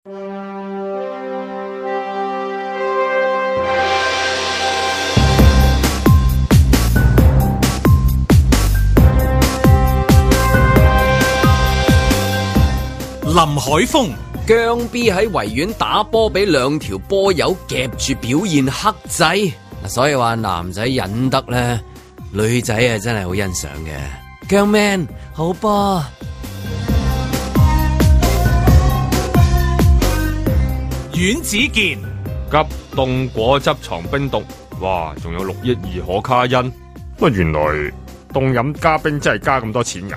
林海峰姜 B 喺維園打波，俾兩條波友夾住表現克制，所以話男仔忍得咧，女仔啊真係好欣賞嘅。姜 Man 好波。 阮子健急凍果汁藏冰毒，哇，仲有6億2可卡因，乜原來凍飲加冰真係加咁多錢㗎？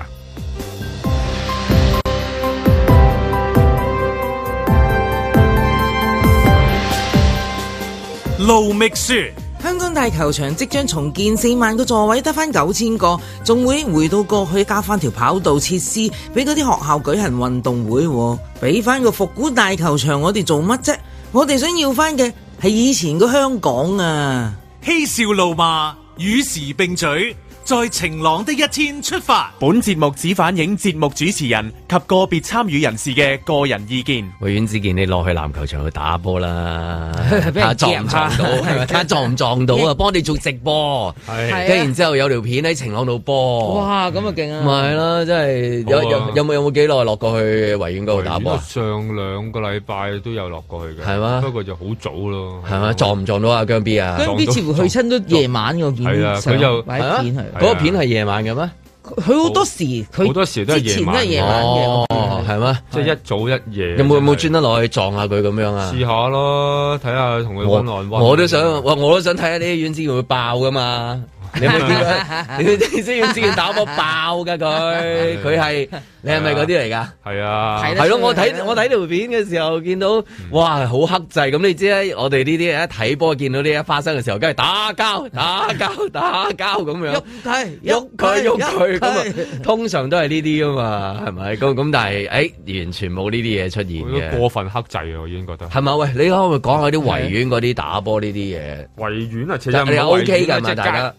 盧覓雪， 香港大球場即將重建，4萬個座位得翻9000個，仲會回到過去加翻條跑道設施，俾嗰啲學校舉行運動會，俾翻個復古大球場，我哋做乜啫？我哋想要翻嘅係以前個香港啊！ 嬉笑怒罵，與時並舉，在晴朗的一天出發。 本節目只反映節目主持人及個別參與人士嘅個人意見。 喂，阮子健，你落去籃球場去打波啦，睇下撞唔撞到，睇下撞唔撞到啊！幫我哋做直播，跟住然之後有條片喺晴朗度播。 哇，咁啊勁啊！ 咪係咯，真係有冇幾耐落過去維園嗰度打波？ 上2個禮拜都有落過去嘅， 係嘛？ 不過就好早咯。 係嘛？撞唔撞到啊？姜 B 啊？ 姜 B 似乎去親都夜晚嘅，見係啊，佢就擺片係。 嗰個片係夜晚嘅咩？ 佢好多時都係夜晚嘅， 係咩？ 即係一早一夜。 有冇專登落去撞下佢咁樣啊？ 試下咯，睇下同佢溫暖。 我都想睇下啲阮子健會爆噶嘛？你有冇見過？你知阮子健打波爆噶佢係你係咪嗰啲嚟㗎？ 係啊， 係咯，我睇條片嘅時候見到，哇，好克制咁。你知咧，我哋呢啲人一睇波見到呢一發生嘅時候，梗係打交咁樣，喐佢咁啊，通常都係呢啲㗎嘛，係咪？咁但係完全冇呢啲嘢出現嘅， 過分克制啊！我已經覺得係咪？喂，你可唔可以講下啲維園嗰啲打波呢啲嘢？ 維園啊，其實你 OK 㗎嘛？大家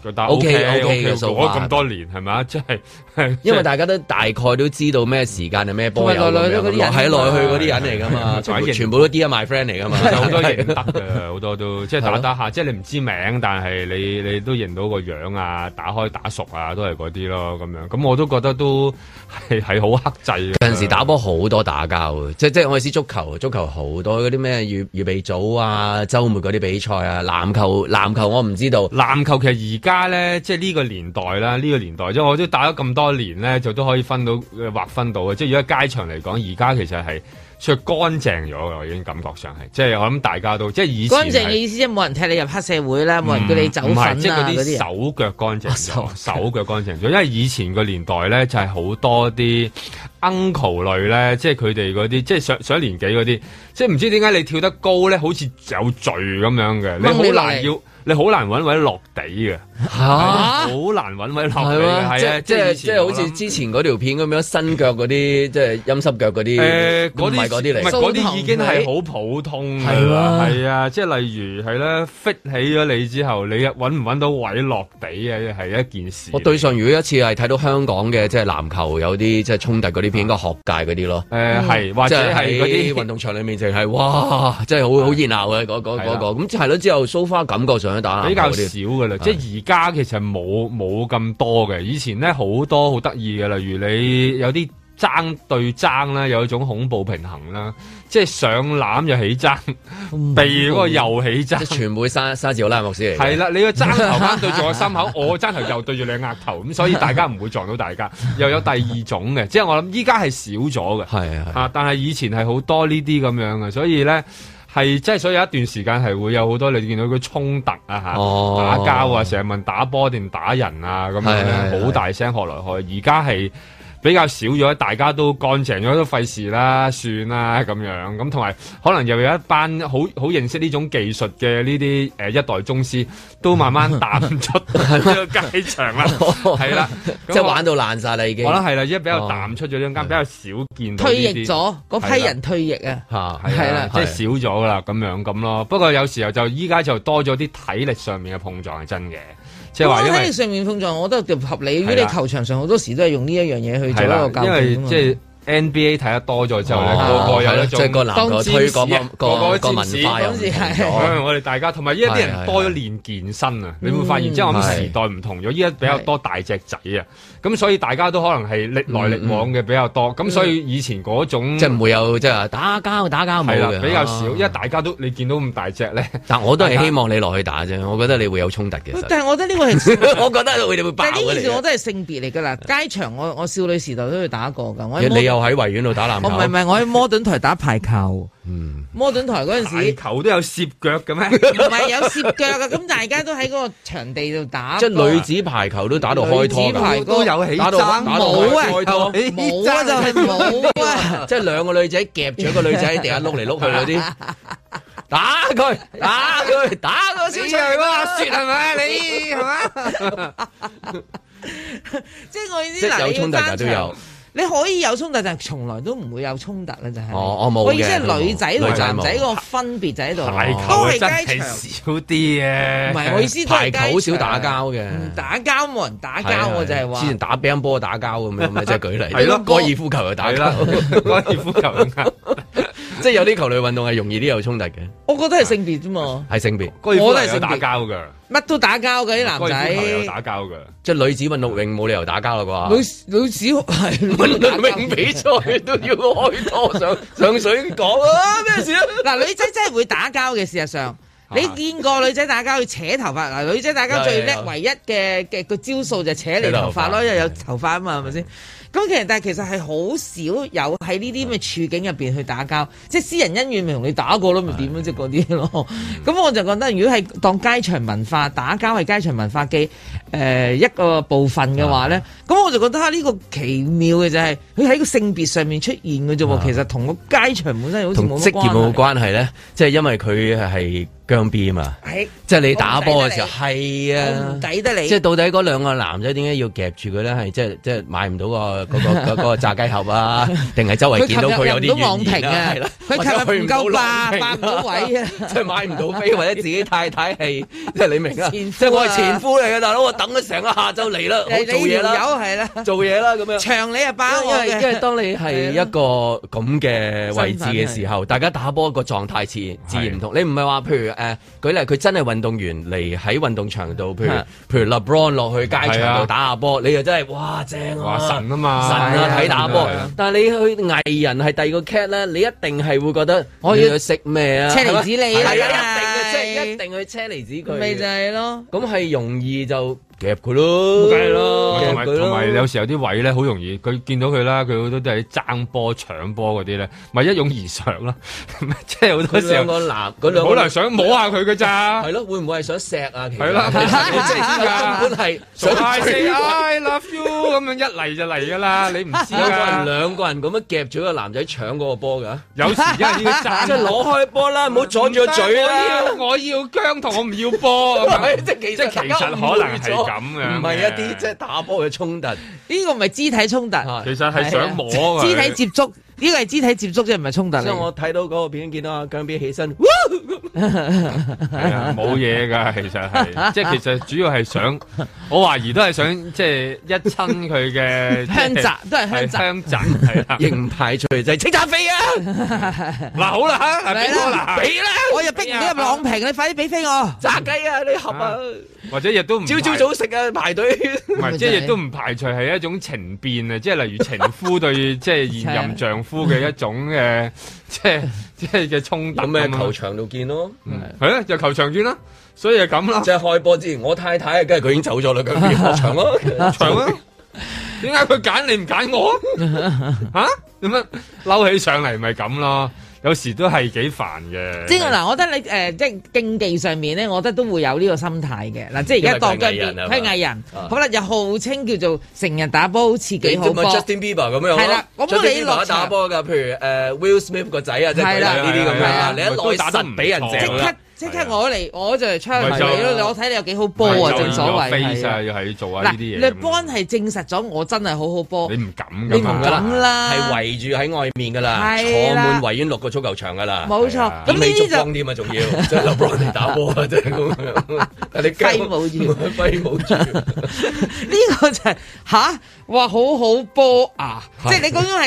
OK 嘅數咗咁多年係咪？即係因為大家都大概都知道咩時間係咩波友咁樣，係來去嗰啲人嚟㗎嘛，全部都 Dear My Friend 嚟㗎嘛， 好多認得嘅，好多都即係打下，即係你唔知名，但係你都認到個樣啊，打開打熟啊，都係嗰啲咯咁樣。咁我都覺得都係好克制嘅。 有陣時打波好多打交嘅，即係我意思足球好多嗰啲咩預備組啊，週末嗰啲比賽啊，籃球我唔知道。 籃球其實而家咧，即係呢個年代啦，即係我都打咗咁多年咧，就都可以劃分到嘅。即係如果街場嚟講，而家其實係算乾淨咗嘅，我已經感覺上係。即係我諗大家都即係以前乾淨嘅意思，即係冇人踢你入黑社會啦，冇人叫你走粉啊， 即係嗰啲手腳乾淨咗，手腳乾淨咗。因為以前個年代咧，就係好多啲 uncle 類咧，即係佢哋嗰啲，即係上年紀嗰啲，即係唔知點解你跳得高咧，好似有罪咁樣嘅，你好難揾位落地嘅，好難揾位落地嘅，係啊，即係好似之前嗰條片咁樣，伸腳嗰啲，即係陰濕腳嗰啲，唔係嗰啲嚟， 唔係嗰啲已經係好普通㗎啦，係啊，即係例如係咧 fit 起咗你之後，你揾唔揾到位落地嘅係一件事。 我對上如果一次係睇到香港嘅即係籃球有啲即係衝突嗰啲片，應該學界嗰啲咯， 係或者係嗰啲運動場裡面淨係哇，真係好熱鬧嘅嗰個，咁係咯，之後 so far 感覺上比較少噶啦，即係而家其實冇咁多嘅，以前咧好多好得意嘅，例如你有啲爭對爭啦，有一種恐怖平衡啦，即係上籃又起爭，避嗰個又起爭， 即係全部沙治奧拉莫斯嚟。 係啦，你個爭頭啱對住我心口，我爭頭又對住你額頭，咁所以大家唔會撞到大家。又有第二種嘅，即係我諗依家係少咗嘅，係但係以前係好多呢啲咁樣嘅，所以咧。係，即係所以有一段時間係會有好多你見到佢衝突啊嚇，打交啊，成日問打波定打人啊咁樣咧，好大聲學來學去。而家係比較少咗，大家都乾淨咗，都費事啦，算啦咁樣。咁同埋可能又有一班好認識呢種技術嘅呢啲一代宗師，都慢慢淡出呢個街場啦。係啦， 即係玩到爛晒啦已經。 我覺得係啦，而家比較淡出咗呢間，比較少見到。 退役咗嗰批人退役啊， 係啦，即係少咗噶啦，咁樣咁咯。不過有時候就依家就多咗啲體力上面嘅碰撞係真嘅。即係話，因為上面碰撞，我覺得合理。如果你球場上好多時都係用呢一樣嘢去做一個教練， 因為即係 NBA 睇得多咗之後咧，個個有一種即係個籃球推廣個文化又唔同咗。 我哋大家同埋依家啲人多咗練健身啊，你會發現即係我諗時代唔同咗，依家比較多大隻仔啊，咁所以大家都可能係歷來歷往嘅比較多，咁所以以前嗰種即係唔會有即係打交冇嘅， 比較少，因為大家都你見到咁大隻咧。 但我都係希望你落去打啫，我覺得你會有衝突嘅。 但係我覺得呢個係， 我覺得佢哋會爆嘅。 但係呢件事我都係性別嚟㗎啦，街場我少女時代都去打過㗎。 你又喺維園度打籃球？ 唔係，我喺摩頓台打排球。摩頓台嗰陣時， 排球都有攝腳嘅咩？ 唔係有攝腳㗎，咁大家都喺嗰個場地度打。 即係女子排球都打到開拖， 都有起爭， 冇啊，冇啊，就係冇啊， 即係兩個女仔夾住一個女仔喺地下碌嚟碌去嗰啲。打佢，打個小長嗰阿雪係咪？你係嘛？ 即係我意思， 有衝突㗎都有。 你可以有衝突，但係從來都唔會有衝突啦，就係。 我冇嘅。 我意思係女仔同男仔個分別就喺度，都係街場少啲嘅。 唔係，我意思排球好少打交嘅。 打交冇人打交，我就係話。 之前打乒乓波打交咁樣，咪即係舉例。 係咯， 高爾夫球又打交， 高爾夫球又打。 即係有啲球類運動係容易啲有衝突嘅。 我覺得係性別啫嘛。 係性別。 我都係打交㗎。 乜都打交嘅啲男仔。 高爾夫球有打交㗎。 即係女子運動泳冇理由打交啦啩？ 女子係運動泳比賽都要開拖上水講啊！咩事啊？ 嗱，女仔真係會打交嘅，事實上。你見過女仔打交去扯頭髮？嗱，女仔打交最叻唯一嘅個招數就係扯你頭髮咯，因為有頭髮啊嘛，係咪先？咁但係其實係好少有喺呢啲咁嘅處境入邊去打交，即係私人恩怨咪同你打過咯，咪點樣即係嗰啲咯。咁我就覺得，如果係當街場文化打交係街場文化嘅一個部分嘅話咧，咁我就覺得呢個奇妙嘅就係佢喺個性別上面出現嘅啫喎，其實同個街場本身好似冇乜關係。同職業冇關係咧，即係因為佢係姜 B 啊嘛，即係你打波嘅時候係啊，唔抵得你。即係到底嗰兩個男仔點解要夾住佢咧？係即係買唔到嗰個炸雞盒啊？定係周圍見到佢有啲原因啊？係啦，佢琴日唔夠霸唔到位啊！即係買唔到飛，或者自己太太係即係你明啊？即係我係前夫嚟嘅大佬，我等咗成個下晝嚟啦，我做嘢啦，係啦，做嘢啦咁樣。長你啊包，因為當你係一個咁嘅位置嘅時候，大家打波個狀態自然唔同。你唔係話譬如。舉例佢真係運動員嚟喺運動場度，譬如 LeBron 落去街場度打下波，你又真係哇正啊！神啊嘛，神啊睇打波。但係你去藝人係第二個 cat 咧，你一定係會覺得我要去食咩啊？車厘子你係啊，一定嘅，即係一定去車厘子佢。咪就係咯，咁係容易就。夾佢咯，梗係咯，同埋有時有啲位咧，好容易佢見到佢啦，佢好多都係爭波搶波嗰啲咧，咪一擁而上啦，即係好多時候好難想摸下佢㗎咋，係咯，會唔會係想錫啊？係啦，其實即係根本係想 I love you 咁樣一嚟就嚟㗎啦，你唔知㗎，兩個人咁樣夾住個男仔搶嗰個波㗎，有時因為呢個爭，即係攞開波啦，唔好阻住個嘴啦，我要姜同我唔要波，即係其實可能係。咁嘅唔係一啲即係打波嘅衝突，呢個唔係肢體衝突，其實係想摸嘅肢體接觸，呢個係肢體接觸，即係唔係衝突。所以我睇到嗰個片見到阿姜 B 起身，係啊，冇嘢㗎，其實係，即係其實主要係想，我懷疑都係想即係一親佢嘅香澤，都係香澤，係啦，亦唔排除就係清拆飛啊！嗱好啦嚇，俾我啦，俾啦，我又逼唔到入朗屏，你快啲俾飛我炸雞啊！你合啊！或者亦都唔朝早食啊排隊，唔係即係亦都唔排除係一種情變啊！即係例如情夫對即係現任丈夫嘅一種嘅即係嘅衝突。咁咩球場度見咯，係啊，就球場見啦，所以就咁啦。即係開波之前，我太太梗係佢已經走咗啦，咁邊球場咯，場咯。點解佢揀你唔揀我啊？點樣嬲起上嚟咪咁咯？有時都係幾煩嘅。即係嗱，我覺得你即係競技上面咧，我覺得都會有呢個心態嘅。嗱，即係而家當緊邊係藝人，好啦，又號稱叫做成日打波，好似幾好波。Justin Bieber 咁樣係啦，我幫你落打波㗎。譬如Will Smith 個仔啊，即係呢啲咁樣。你一來打得唔俾人正即刻我嚟，我就嚟槍你咯！我睇你有幾好波啊！正所謂係要係做下呢啲嘢。嗱，LeBron係證實咗我真係好好波。你唔敢㗎嘛？你唔敢啦，係圍住喺外面㗎啦，坐滿維園6個足球場㗎啦。冇錯，咁呢啲就光添啊，仲要即係LeBron嚟打波啊，真係咁樣。你揮舞住，揮舞住。呢個就係吓，哇！好好波啊！即係你講緊係。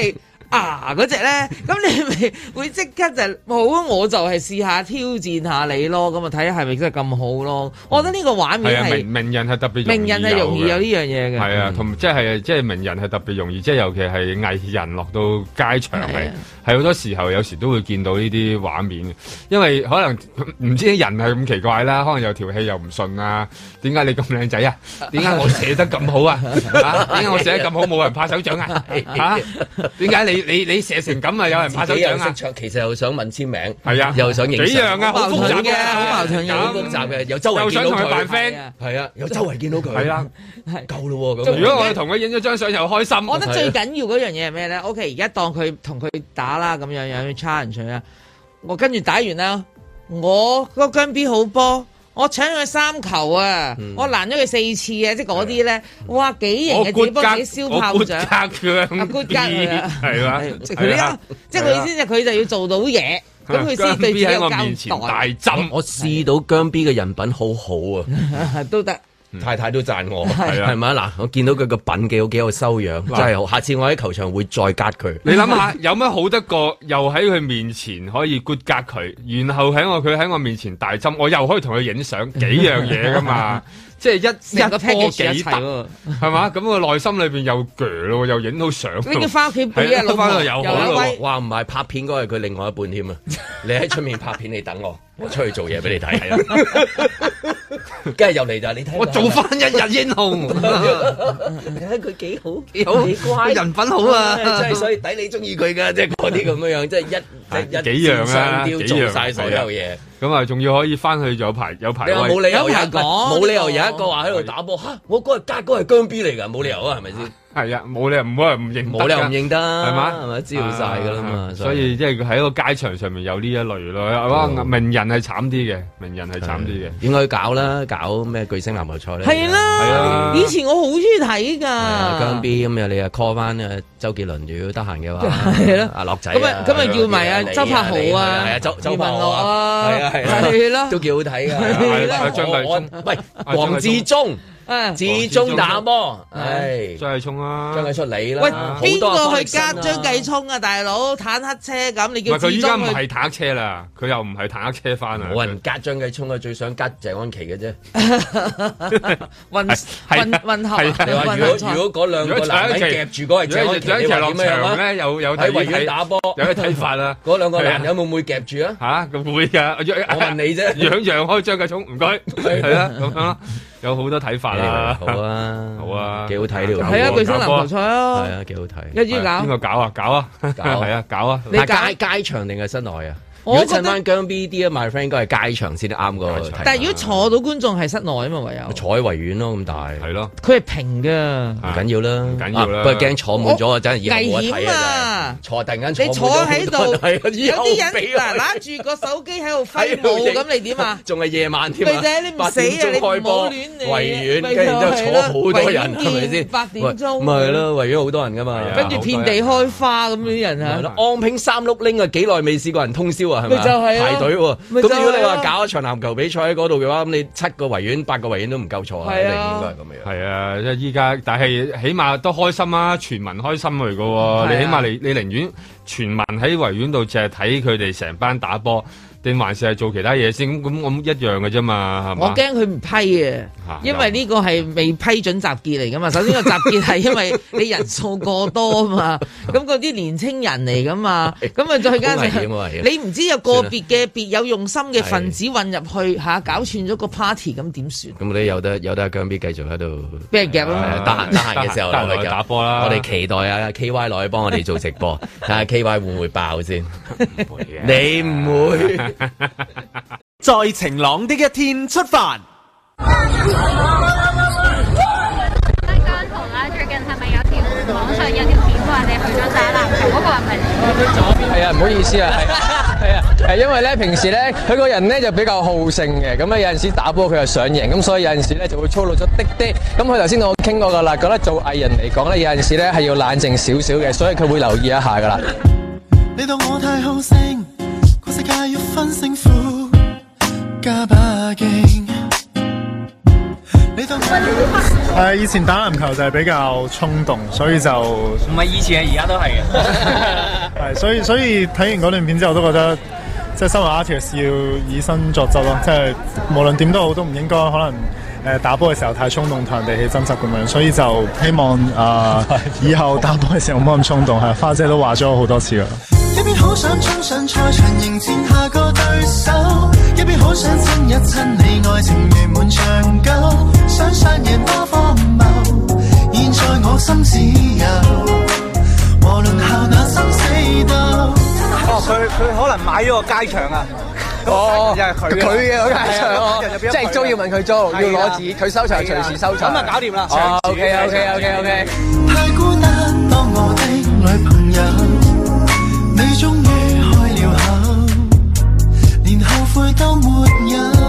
嗰隻咧，咁你咪會即刻就好，我就係試下挑戰下你咯，咁啊睇下係咪真係咁好咯？我覺得呢個畫面係名人係特別名人係容易有呢樣嘢嘅。 係啊，同即係名人係特別容易，即係尤其係藝人落到街場係好多時候有時都會見到呢啲畫面，因為可能唔知人係咁奇怪啦，可能有條氣又唔順啊，點解你咁靚仔啊？點解我寫得咁好啊？點解我寫得咁好冇人拍手掌啊？點解你寫成咁啊？有人拍手掌啊？ 其實又想問簽名， 係啊， 又想影幾樣啊，好複雜嘅， 好矛盾嘅，好複雜嘅，又周圍見到佢扮 friend， 係啊，又周圍見到佢， 係啦， 夠咯喎。 如果我哋同佢影咗張相又開心， 我覺得最緊要嗰樣嘢係咩咧？OK，而家當佢同佢打啦，咁樣 challenge 佢啊，我跟住打完啦，我個姜 B 好波。我搶佢3球啊！我攔咗佢4次啊！即係嗰啲咧，哇幾型嘅自己幫自己燒炮仗，阿 good 吉啊，係嘛？即係佢即係佢意思就佢就要做到嘢，咁佢先對自己有交代。 我試到姜 B 嘅人品好好啊， 都得。 太太都讚我，係咪啊？嗱，我見到佢個品幾有修養，真係好。下次我喺球場會再加佢。 你諗下，有乜好得過？又喺佢面前可以 good 加佢，然後佢喺我面前大針，我又可以同佢影相，幾樣嘢噶嘛？即係一波幾得，係嘛？咁我內心裏邊又鋸咯，又影到相。 你翻屋企俾阿老婆又好咯。哇，唔係拍片嗰係佢另外一半添啊！你喺出面拍片，你等我出去做嘢俾你睇。係啊，跟住入嚟就你睇， 我做翻一日英雄。 你睇佢幾好，幾乖， 人品好啊！ 真係所以抵你中意佢噶，即係嗰啲咁樣，即係一幾樣啊， 做晒所有嘢。 咁啊，仲要可以翻去有排位。 冇理由冇理由有一個話喺度打波嚇，我嗰日加嗰係姜 B 嚟㗎，冇理由啊，係咪先？ 係啊，冇理由冇人唔認， 冇理由唔認得， 係嘛？ 係咪知道晒㗎啦嘛？ 所以即係佢喺個街場上面有呢一類咯。名人係慘啲嘅，名人係慘啲嘅。 應該搞啦，搞咩巨星籃球賽咧？ 係啦，以前我好中意睇㗎。 姜 B 咁你又 call 翻周杰倫，如果得閒嘅話， 係咯， 阿樂仔咁啊叫埋阿周柏豪啊， 係啊，周柏豪啊， 係咯，都幾好睇㗎。 係啦，張繼聰， 喂，黃志忠。志忠打波，係張繼聰啊， 張繼聰你啦。 喂，邊個去加張繼聰啊？大佬坦克車咁，你叫志忠去？佢依家唔係坦克車啦，佢又唔係坦克車翻啊！ 冇人加張繼聰啊，最想加謝安琪嘅啫。 混合。 你話如果嗰兩個男人夾住嗰係謝安琪，你話點樣啊？ 咧有喺維園打波， 有啲睇法啦。 嗰兩個男人會唔會夾住啊？ 嚇，咁會㗎。 我問你啫， 讓開張繼聰，唔該，係啊，咁樣。有好多睇法啦， 好啊， 好啊， 幾好睇呢個， 係啊，巨星籃球賽啊， 係啊，幾好睇， 一於搞， 邊個搞啊？搞啊，係啊，搞啊， 你街場定係室內啊？如果襯翻姜 B D 啊，my friend 應該係街場先啱個。 但係如果坐到觀眾係室內啊嘛，唯有坐喺維園咯，咁大係咯。 佢係平㗎， 唔緊要啦， 唔緊要啦。 不過驚坐滿咗啊，真係以後冇得睇危險啊！ 坐突然間你坐喺度，有啲人嗱攞住個手機喺度揮舞，咁你點啊？ 仲係夜晚添啊！ 你唔死啊！你唔好亂嚟。 維園跟住之後坐好多人，係咪先 ？8點鐘咪係咯，維園好多人噶嘛。 跟住遍地開花咁啲人啊！ 安平三碌拎啊，幾耐未試過人通宵啊？係咪？ 就係排隊喎。咁如果你話搞一場籃球比賽喺嗰度嘅話，咁你7個維園、8個維園都唔夠坐啊！一定應該係咁樣。 係啊，即係依家，但係起碼都開心啊，全民開心嚟噶喎。你起碼你寧願全民喺維園度淨係睇佢哋成班打波。定還是係做其他嘢先咁一樣嘅啫嘛，係嘛？ 我驚佢唔批啊，因為呢個係未批准集結嚟噶嘛。首先個集結係因為你人數過多啊嘛，咁嗰啲年青人嚟噶嘛，咁啊再加上你唔知有個別嘅別有用心嘅分子混入去嚇搞串咗個 party， 咁點算？ 咁你有得姜 B 繼續喺度俾人夾啊！ 得閒嘅時候落去打波啦。 我哋期待啊 KY 落去幫我哋做直播，睇下 KY 會唔會爆先？唔會嘅，你唔會。 在晴朗的一天出發。 姜濤啦，最近係咪有條網上有條片話你去咗打籃球嗰個係咪你？ 係啊，唔好意思啊，係啊，因為咧平時咧佢個人咧就比較好勝嘅，咁咧有陣時打波佢又想贏，咁所以有陣時咧就會粗魯咗啲。咁佢頭先同我傾過噶啦，覺得做藝人嚟講咧有陣時咧係要冷靜少少嘅，所以佢會留意一下噶啦。 你當我太好勝。世界要分勝負，加把勁。 以前打籃球就係比較衝動，所以就唔係以前，而家都係嘅。係，所以睇完嗰段片之後，都覺得即係身為 artist 要以身作則咯，即係無論點都好，都唔應該可能打波嘅時候太衝動，同人哋起爭執咁樣。所以就希望以後打波嘅時候唔好咁衝動。係，花姐都話咗我好多次啦。 一邊好想衝上賽場迎戰下個對手，一邊好想親一親你，愛情圓滿長久，想上演多荒謬，現在我心只有和輪候那生死鬥。 佢可能買咗個街場啊！ 哦， 又係佢嘅街場，即係租要問佢租，要攞紙，佢收場隨時收場。 咁啊搞掂啦 ！OK。 太孤單，當我的女朋友，你終於開了口，連後悔都沒有。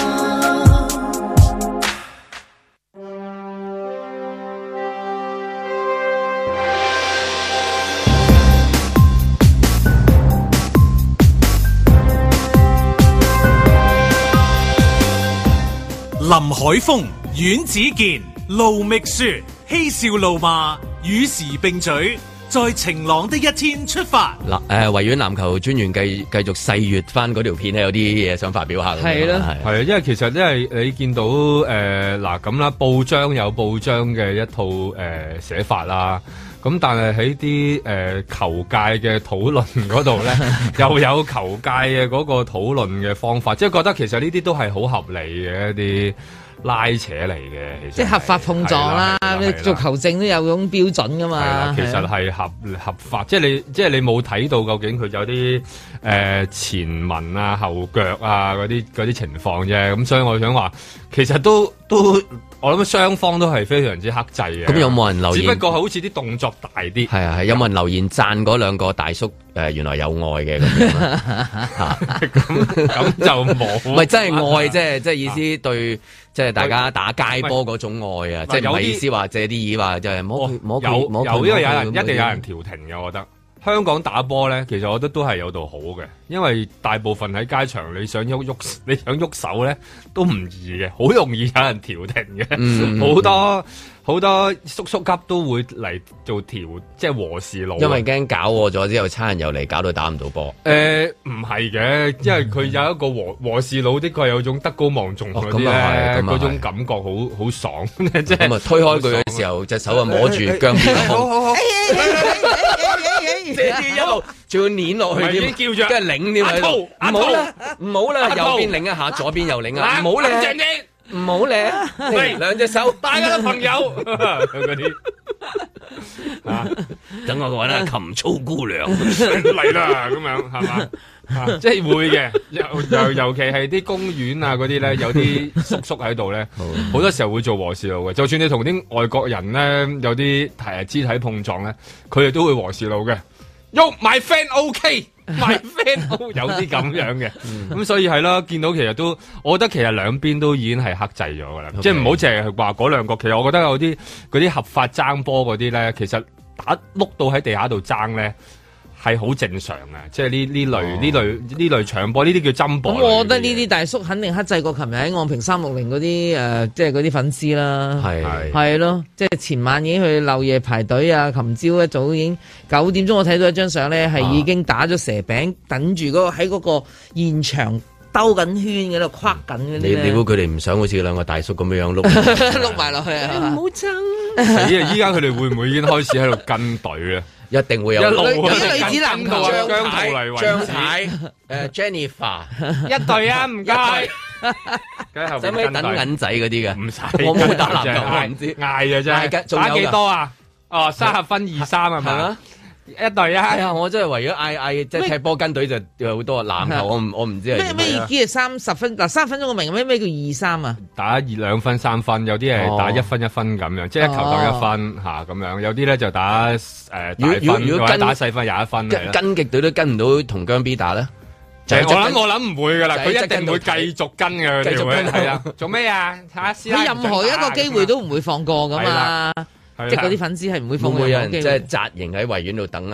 林海峰、阮子健、盧覓雪，嬉笑怒罵，與時並舉，在晴朗的一天出發。 嗱，維園籃球專員繼續細閱翻嗰條片咧，有啲嘢想發表下。 係啦，係啊，因為其實因為你見到嗱咁啦，報章有報章嘅一套寫法啦。咁但係喺啲球界嘅討論嗰度咧，又有球界嘅嗰個討論嘅方法，即係覺得其實呢啲都係好合理嘅一啲拉扯嚟嘅， 即係合法碰撞啦。你做球證都有種標準噶嘛。係啦， 其實係合法，即係你冇睇到究竟佢有啲前文啊、後腳啊嗰啲情況啫。咁所以我想話，其實都。我諗雙方都係非常之克制嘅。 咁有冇人留言？ 只不過好似啲動作大啲。 係啊係，有冇人留言讚嗰兩個大叔？原來有愛嘅咁樣。 咁就冇。 唔係真係愛，即係意思對，即係大家打街波嗰種愛啊！即係唔係意思話借啲意話就係摸佢， 因為有人一定有人調停嘅，我覺得。香港打波咧，其實我覺得都係有度好嘅，因為大部分喺街場，你想喐手咧都唔易嘅，好容易有人調停嘅，好多叔叔級都會嚟做即係和事佬， 因為驚搞錯咗之後，差人又嚟搞到打唔到波。 唔係嘅，因為佢有一個和事佬的確有種德高望重嗰啲咧，嗰種感覺好爽，即係咁啊！推開佢嘅時候，隻手啊摸住姜片嘅胸， 好， 即係一路仲要捏落去添， 叫住跟住擰添喺度，唔好啦，右邊擰一下，左邊又擰啊，唔好咧。唔好咧，兩隻手， 大家嘅朋友嗰啲等我揾下琴操姑娘嚟啦，咁樣係嘛？即係會嘅，尤其係啲公園啊嗰啲咧，有啲叔叔喺度咧，好多時候會做和事佬嘅。就算你同啲外國人咧有啲肢體碰撞咧，佢哋都會和事佬嘅。My friend OK。My friend 有啲咁樣嘅，咁所以係啦，見到其實都，我覺得其實兩邊都已經係克制咗噶啦，即係唔好淨係話嗰兩個，其實我覺得有啲嗰啲合法爭波嗰啲咧，其實打碌到喺地下度爭咧係好正常嘅，即係呢類搶波呢啲叫爭波。 咁我覺得呢啲大叔肯定克制過琴日喺昂坪360嗰啲即係嗰啲粉絲啦，係咯，即係前晚已經去漏夜排隊啊，琴朝一早已經9點鐘我睇到一張相咧，係已經打咗蛇餅，等住喺嗰個現場兜緊圈嗰度跨緊嗰啲。 你估佢哋唔想好似兩個大叔咁樣碌碌埋落去啊？唔好爭！ 依家佢哋會唔會已經開始喺度跟隊啊？ 一定會有一路女子籃球張太Jennifer 一隊啊，唔該。 使唔使等銀仔嗰啲嘅？唔使， 我冇打籃球，我唔知。 嗌嘅啫，打幾多啊？哦，30分2-3係咪？一隊啊！ 係啊，我真係為咗嗌即係踢波跟隊就有好多籃球，我唔知係咩意思係30分嗱，3分鐘我明咩叫2-3啊？ 打2分3分，有啲係打1分1分咁樣，即係一球鬥1分嚇咁樣，有啲咧就打大分，如果打細分21分。 跟極隊都跟唔到同姜 B 打咧？ 我諗唔會噶啦，佢一定會繼續跟嘅，繼續跟係啊！做咩啊？ 佢任何一個機會都唔會放過噶嘛。即係嗰啲粉絲係唔會放過。 會唔會有人即係紮營喺維園度等啊？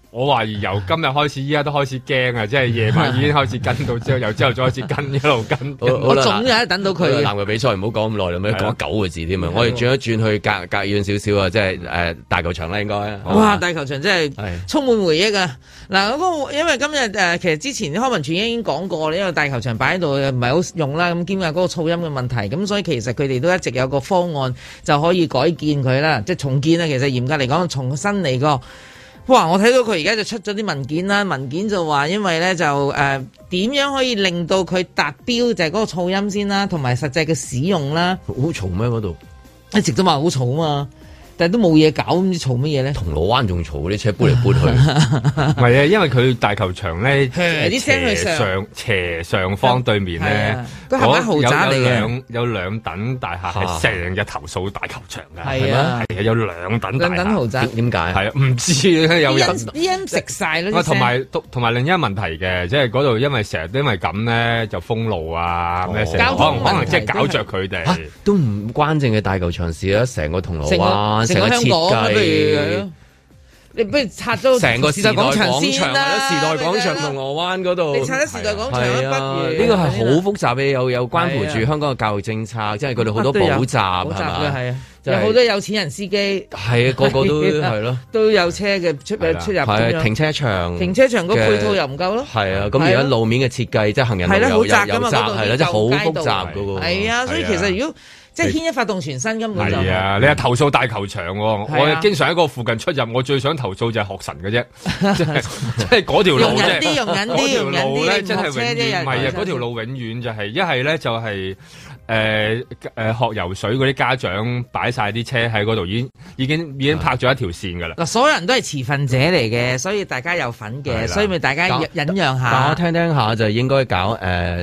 我懷疑由今日開始，依家都開始驚啊！即係夜晚已經開始跟到之後，由朝頭早開始跟，一路跟。 我總有等到佢。 籃球比賽唔好講咁耐啦，咩講9個字添啊！我哋轉一轉去隔遠少少啊，即係大球場啦，應該。 哇！大球場真係充滿回憶啊！嗱，因為今日其實之前康文署已經講過，因為大球場擺喺度唔係好用啦，咁兼埋嗰個噪音嘅問題，咁所以其實佢哋都一直有個方案就可以改建佢啦，即係重建啦。其實嚴格嚟講，重新嚟過。哇！我睇到佢而家就出咗啲文件啦，文件就話因為咧就點樣可以令到佢達標，就係嗰個噪音先啦，同埋實際嘅使用啦。 好嘈咩嗰度？ 一直都話好嘈啊嘛，但係都冇嘢搞，唔知嘈乜嘢咧？ 銅鑼灣仲嘈，啲車搬嚟搬去。 唔係啊，因為佢大球場咧， 啲聲去斜上方對面咧， 都係間豪宅嚟嘅。 有兩等大廈係成日投訴大球場㗎。 係啊， 係有兩等大廈。 兩等豪宅點解？係啊， 唔知有人啲人食晒咯。 同埋另一個問題嘅，即係嗰度因為成日因為咁咧就封路啊咩成，可能即係搞着佢哋。 都唔關淨嘅大球場事啊，成個銅鑼灣。成個香港你不如拆咗成個時代廣場先啦， 時代廣場銅鑼灣嗰度， 你拆咗時代廣場不如呢個係好複雜嘅，有關乎住香港嘅教育政策，即係佢哋好多補習係嘛， 係啊，有好多有錢人司機， 係啊，個個都係咯， 都有車嘅出入， 係停車場個配套又唔夠咯， 係啊，咁而家路面嘅設計即係行人路又窄，係啦，即係好複雜噶喎， 係啊，所以其實如果即係牽一發動全身根本就係啊！你係投訴大球場喎，我經常喺個附近出入，我最想投訴就係學神嘅啫，即係嗰條路啫。 用緊啲路咧，真係永遠唔係啊！嗰條路永遠就係一係咧就係學游水嗰啲家長擺晒啲車喺嗰度，已經拍咗一條線㗎啦。 嗱，所有人都係持份者嚟嘅，所以大家有份嘅，所以咪大家忍讓下。 但我聽下就應該搞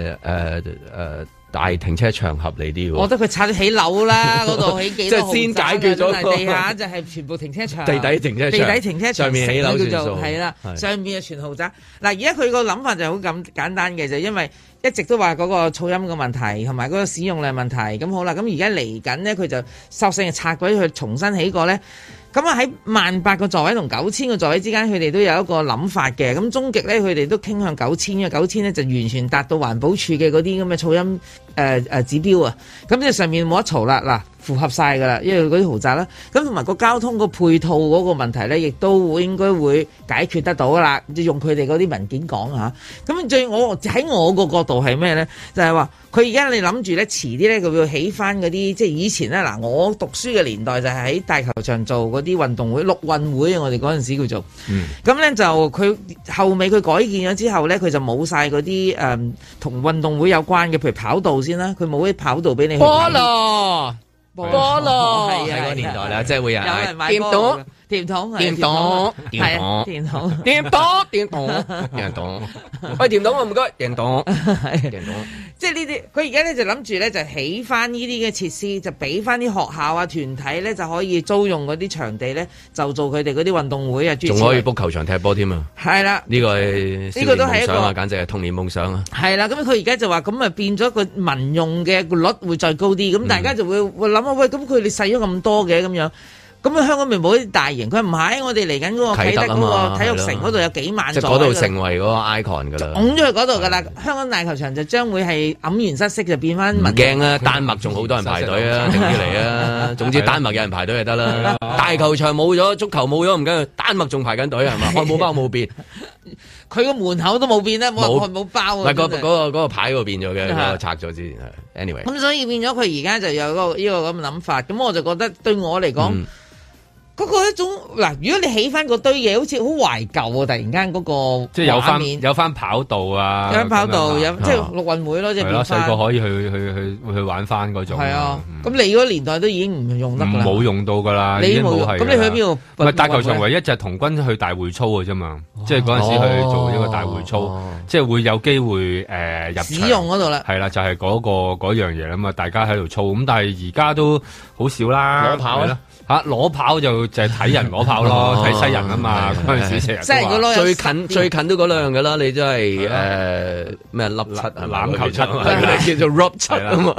大停車場合理啲喎， 我覺得佢拆起樓啦，嗰度起幾多豪宅， 即係先解決咗地下就係全部停車場， 地底停車場上面起樓算數， 係啦，上面就全豪宅。嗱，而家佢個諗法就好咁簡單嘅，就因為一直都話嗰個噪音嘅問題同埋嗰個使用量問題。咁好啦，咁而家嚟緊呢，佢就索性拆鬼佢重新起過咧。咁啊喺18,000個座位同9000個座位之間，佢哋都有一個諗法嘅。咁終極咧，佢哋都傾向9000嘅9000咧，就完全達到環保署嘅嗰啲咁嘅噪音指標啊。咁即係上面冇得嘈啦，嗱，符合晒噶啦，因為嗰啲豪宅啦。咁同埋個交通個配套嗰個問題咧，亦都應該會解決得到噶啦。即係用佢哋嗰啲文件講嚇。咁我喺我個角度係咩咧？就係話佢而家你諗住咧，遲啲咧佢會起翻嗰啲，即係以前咧嗱，我讀書嘅年代就係喺大球場做嗰啲運動會，陸運會我哋嗰陣時叫做。咁咧就佢後尾佢改建咗之後咧，佢就冇晒嗰啲同運動會有關嘅，譬如跑道先啦，佢冇啲跑道俾你去。菠蘿係啊，個年代啦，即係會有人買電筒，電筒， 喂，電筒我唔該，電筒， 即係呢啲，佢而家咧就諗住咧就起翻呢啲嘅設施，就俾翻啲學校啊團體咧就可以租用嗰啲場地咧，就做佢哋嗰啲運動會啊， 仲可以 book 球場踢波添啊！係啦，呢個都係一個簡直係童年夢想啊！ 係啦，咁佢而家就話咁啊變咗個民用嘅率會再高啲，咁大家就會諗啊喂，咁佢哋使咗咁多嘅咁樣。咁啊，香港咪冇啲大型？佢唔係，我哋嚟緊嗰個啟德嗰個體育城嗰度有幾萬座， 即係嗰度成為嗰個 icon 噶啦， 拱咗去嗰度噶啦。香港大球場就將會係黯然失色，就變翻。唔驚啊！丹麥仲好多人排隊啊，定啲嚟啊！總之丹麥有人排隊就得啦。大球場冇咗，足球冇咗，唔緊要，丹麥仲排緊隊係嘛？漢堡包冇變， 佢個門口都冇變啦，冇漢堡包。 唔係嗰個牌嗰個變咗嘅，嗰個拆咗之前係。anyway， 咁所以變咗佢而家就有呢個咁嘅諗法。咁我就覺得對我嚟講。嗰個一種嗱，如果你起翻嗰堆嘢，好似好懷舊啊！突然間嗰個即係有翻跑道啊， 有翻跑道，有即係陸運會咯，即係變翻。 細個可以去玩翻嗰種。 係啊，咁你嗰個年代都已經唔用得啦。 冇用到㗎啦， 你冇用。咁你去邊度？ 唔係大球場唯一就係童軍去大會操嘅啫嘛，即係嗰陣時去做一個大會操，即係會有機會入場使用嗰度啦。 係啦，就係嗰樣嘢啦嘛，大家喺度操咁，但係而家都好少啦。 攞跑啦。 攞跑就就係睇人攞炮咯，睇西人啊嘛，嗰陣時成日西人嗰攞最近都嗰兩樣㗎啦，你真係咩粒七欖球七叫做 Rob 七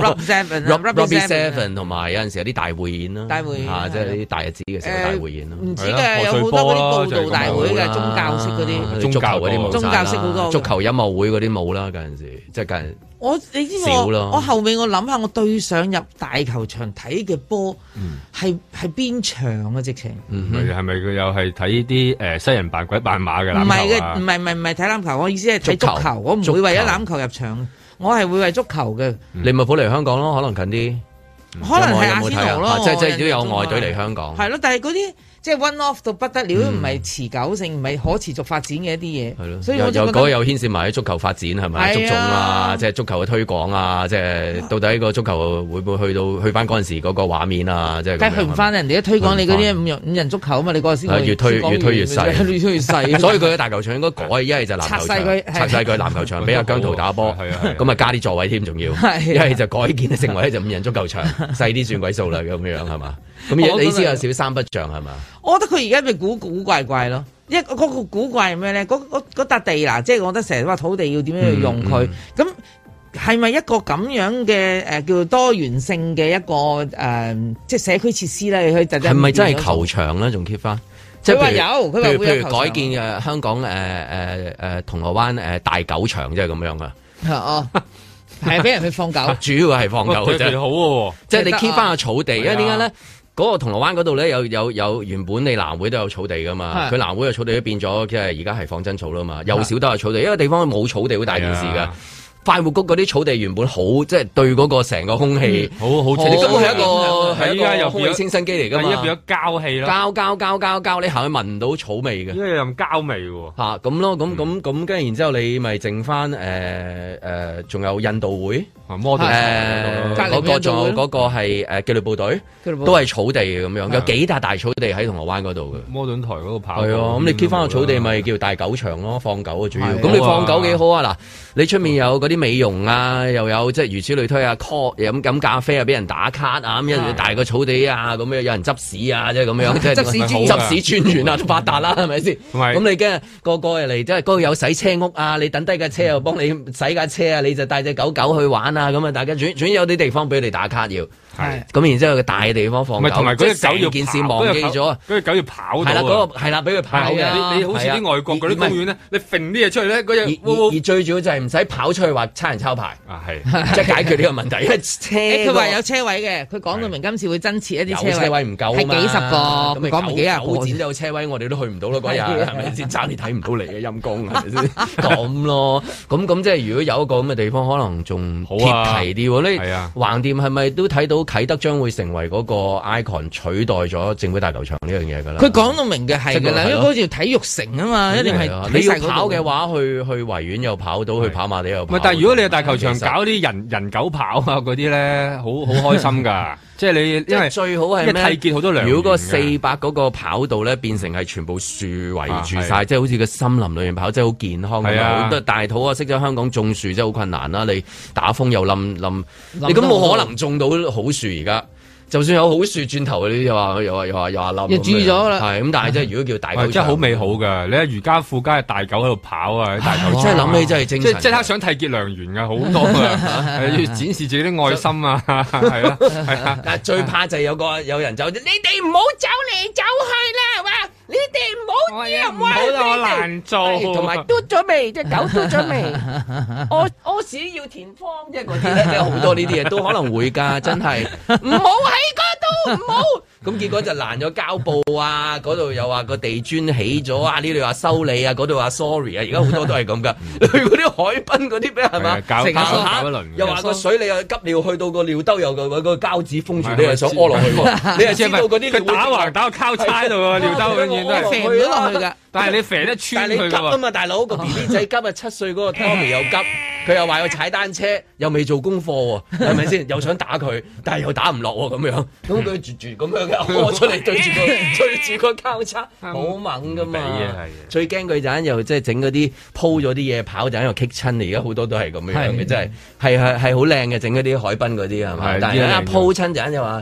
Rob Seven 同埋有陣時有啲大匯演啦，大匯演即係啲大日子嘅時候大匯演咯， 唔知嘅有好多嗰啲報道大會嘅宗教式嗰啲， 足球嗰啲冇， 宗教式好多， 足球音樂會嗰啲冇啦，嗰陣時即係近。 你知我後尾我諗下，我對上入大球場睇嘅波係邊場啊？直情係咪佢又係睇啲西人扮鬼扮馬嘅籃球？ 唔係嘅，唔係睇籃球。我意思係睇足球。我唔會為咗籃球入場，我係會為足球嘅。 利物浦嚟香港咯，可能近啲。 可能係阿仙奴咯， 即係都有外隊嚟香港。 係咯，但係嗰啲。即係 one off 到不得了，唔係持久性，唔係可持續發展嘅一啲嘢。係咯，所以我就覺得有牽涉埋喺足球發展係咪？足總啊，即係足球嘅推廣啊，即係到底個足球會唔會去翻嗰陣時嗰個畫面啊？即係梗係去唔翻，人哋一推廣你嗰啲五人足球啊嘛，你嗰陣先越推越細， 越推越細。 所以佢嘅大球場應該改，一係就籃球場，拆曬佢籃球場，俾阿姜濤打波，咁啊加啲座位添，仲要，一係就改建成為就五人足球場，細啲算鬼數啦，咁樣係嘛？咁你知有少三不像係嘛？ 我覺得佢而家咪古怪怪咯，嗰個古怪係咩咧？嗰笪地嗱，即係我覺得成日話土地要點樣去用佢，咁係咪一個咁樣嘅叫做多元性嘅一個即係社區設施咧？佢係咪真係球場咧？仲 keep 翻？即係佢話有，佢話會有球場。 譬如改建香港銅鑼灣大狗場，即係咁樣噶。 哦。係俾人去放狗， 主要係放狗嘅啫。 好喎， 即係你 keep 翻個草地，因為點解咧？嗰個銅鑼灣嗰度咧有原本你南會都有草地噶嘛，佢南會嘅草地都變咗，即係而家係放真草啦嘛，又少都係草地，因為地方冇草地好大件事噶。快活谷嗰啲草地原本好，即係對嗰個成個空氣好，你根本係一個空氣清新機嚟噶嘛， 依家變咗膠氣啦， 膠，你行去聞唔到草味嘅， 因為有膠味喎。 嚇咁咯，咁跟住然之後你咪剩翻仲有印度會，嗰個仲有嗰個係紀律部隊，都係草地嘅咁樣，有幾笪大草地喺銅鑼灣嗰度嘅。 摩頓台嗰度跑， 係啊，咁你 keep 翻個草地咪叫大狗場咯，放狗啊主要。咁你放狗幾好啊？嗱，你出面有嗰啲美容啊，又有即係如此類推啊 call 飲咖啡啊，俾人打卡啊，咁一大個草地啊，咁樣有人執屎啊，即係咁樣，即係執屎專員啊，都發達啦，係咪先？咁你驚個個嚟，即係嗰度有洗車屋啊，你等低架車又幫你洗架車啊，你就帶隻狗去玩啊，咁啊，大家總之有啲地方俾你打卡要。係，咁然之後個大嘅地方放狗， 同埋嗰隻狗要件事忘記咗， 嗰隻狗要跑到。係啦，嗰個係啦，俾佢跑嘅。 你好似啲外國嗰啲公園咧，你揈啲嘢出去咧，嗰隻而最主要就係唔使跑出去話差人抄牌啊，係即係解決呢個問題。因為車佢話有車位嘅，佢講到明今次會增設一啲車位唔夠啊嘛， 係幾十個，咁講唔幾廿個。 展都有車位，我哋都去唔到咯，嗰日係咪先？爭你睇唔到你嘅陰公係咪先？咁咯，咁即係如果有一個咁嘅地方，可能仲貼題啲。你橫掂係咪都睇到啟德將會成為嗰個 icon 取代咗政府大球場呢樣嘢㗎啦？ 佢講到明嘅係㗎啦，因為好似體育城啊嘛，一定係你要跑嘅話，去維園又跑到，去跑馬地又跑。 但係如果你係大球場搞啲人狗跑啊嗰啲咧，好開心㗎。即係你因為最好係咩？ 締結好多良緣。 如果個400嗰個跑道咧變成係全部樹圍住晒，即係好似個森林裏面跑，即係好健康。係啊，大肚啊，識咗香港種樹真係好困難啦！你打風又冧，你咁冇可能種到好樹而家。就算有好樹轉頭，你又話冧， 又注咗啦。 係咁，但係即係如果叫大狗， 真係好美好㗎。你喺瑜伽附加嘅大狗喺度跑啊，大狗真係諗起真係精神， 即刻想締結良緣㗎，好多㗎，要展示自己啲愛心啊，係啦，係啊。 但係最怕就係有人走，你哋唔好走嚟走去啦，係嘛？你哋唔好唔好我難做， 同埋嘟咗未？隻狗嘟咗未？屙屎要填方，即係嗰啲咧，好多呢啲嘢都可能會㗎，真係唔好喺嗰度，唔好。咁結果就爛咗膠布啊！嗰度又話個地磚起咗啊！呢度話修理啊，嗰度話 sorry 啊！而家好多都係咁㗎。去嗰啲海濱嗰啲咩係嘛？ 搞一輪， 又話個水你又急尿去到個尿兜又個膠紙封住，你又想屙落去喎？你又知道嗰啲佢打橫打個交叉喺度喎，尿兜永遠都係肥咗落去㗎。 但係你肥得穿佢㗎喎。 但係你急啊嘛，大佬個 BB 仔急啊，7歲嗰個 Tommy 又急，佢又話要踩單車，又未做功課喎，係咪先？又想打佢，但係又打唔落喎，咁樣，咁佢絕咁樣嘅屙出嚟對住個交叉，好猛㗎嘛！最驚佢就又即係整嗰啲鋪咗啲嘢跑就喺度棘親，而家好多都係咁樣嘅，真係係好靚嘅，整嗰啲海濱嗰啲係嘛？但係一鋪親就又話。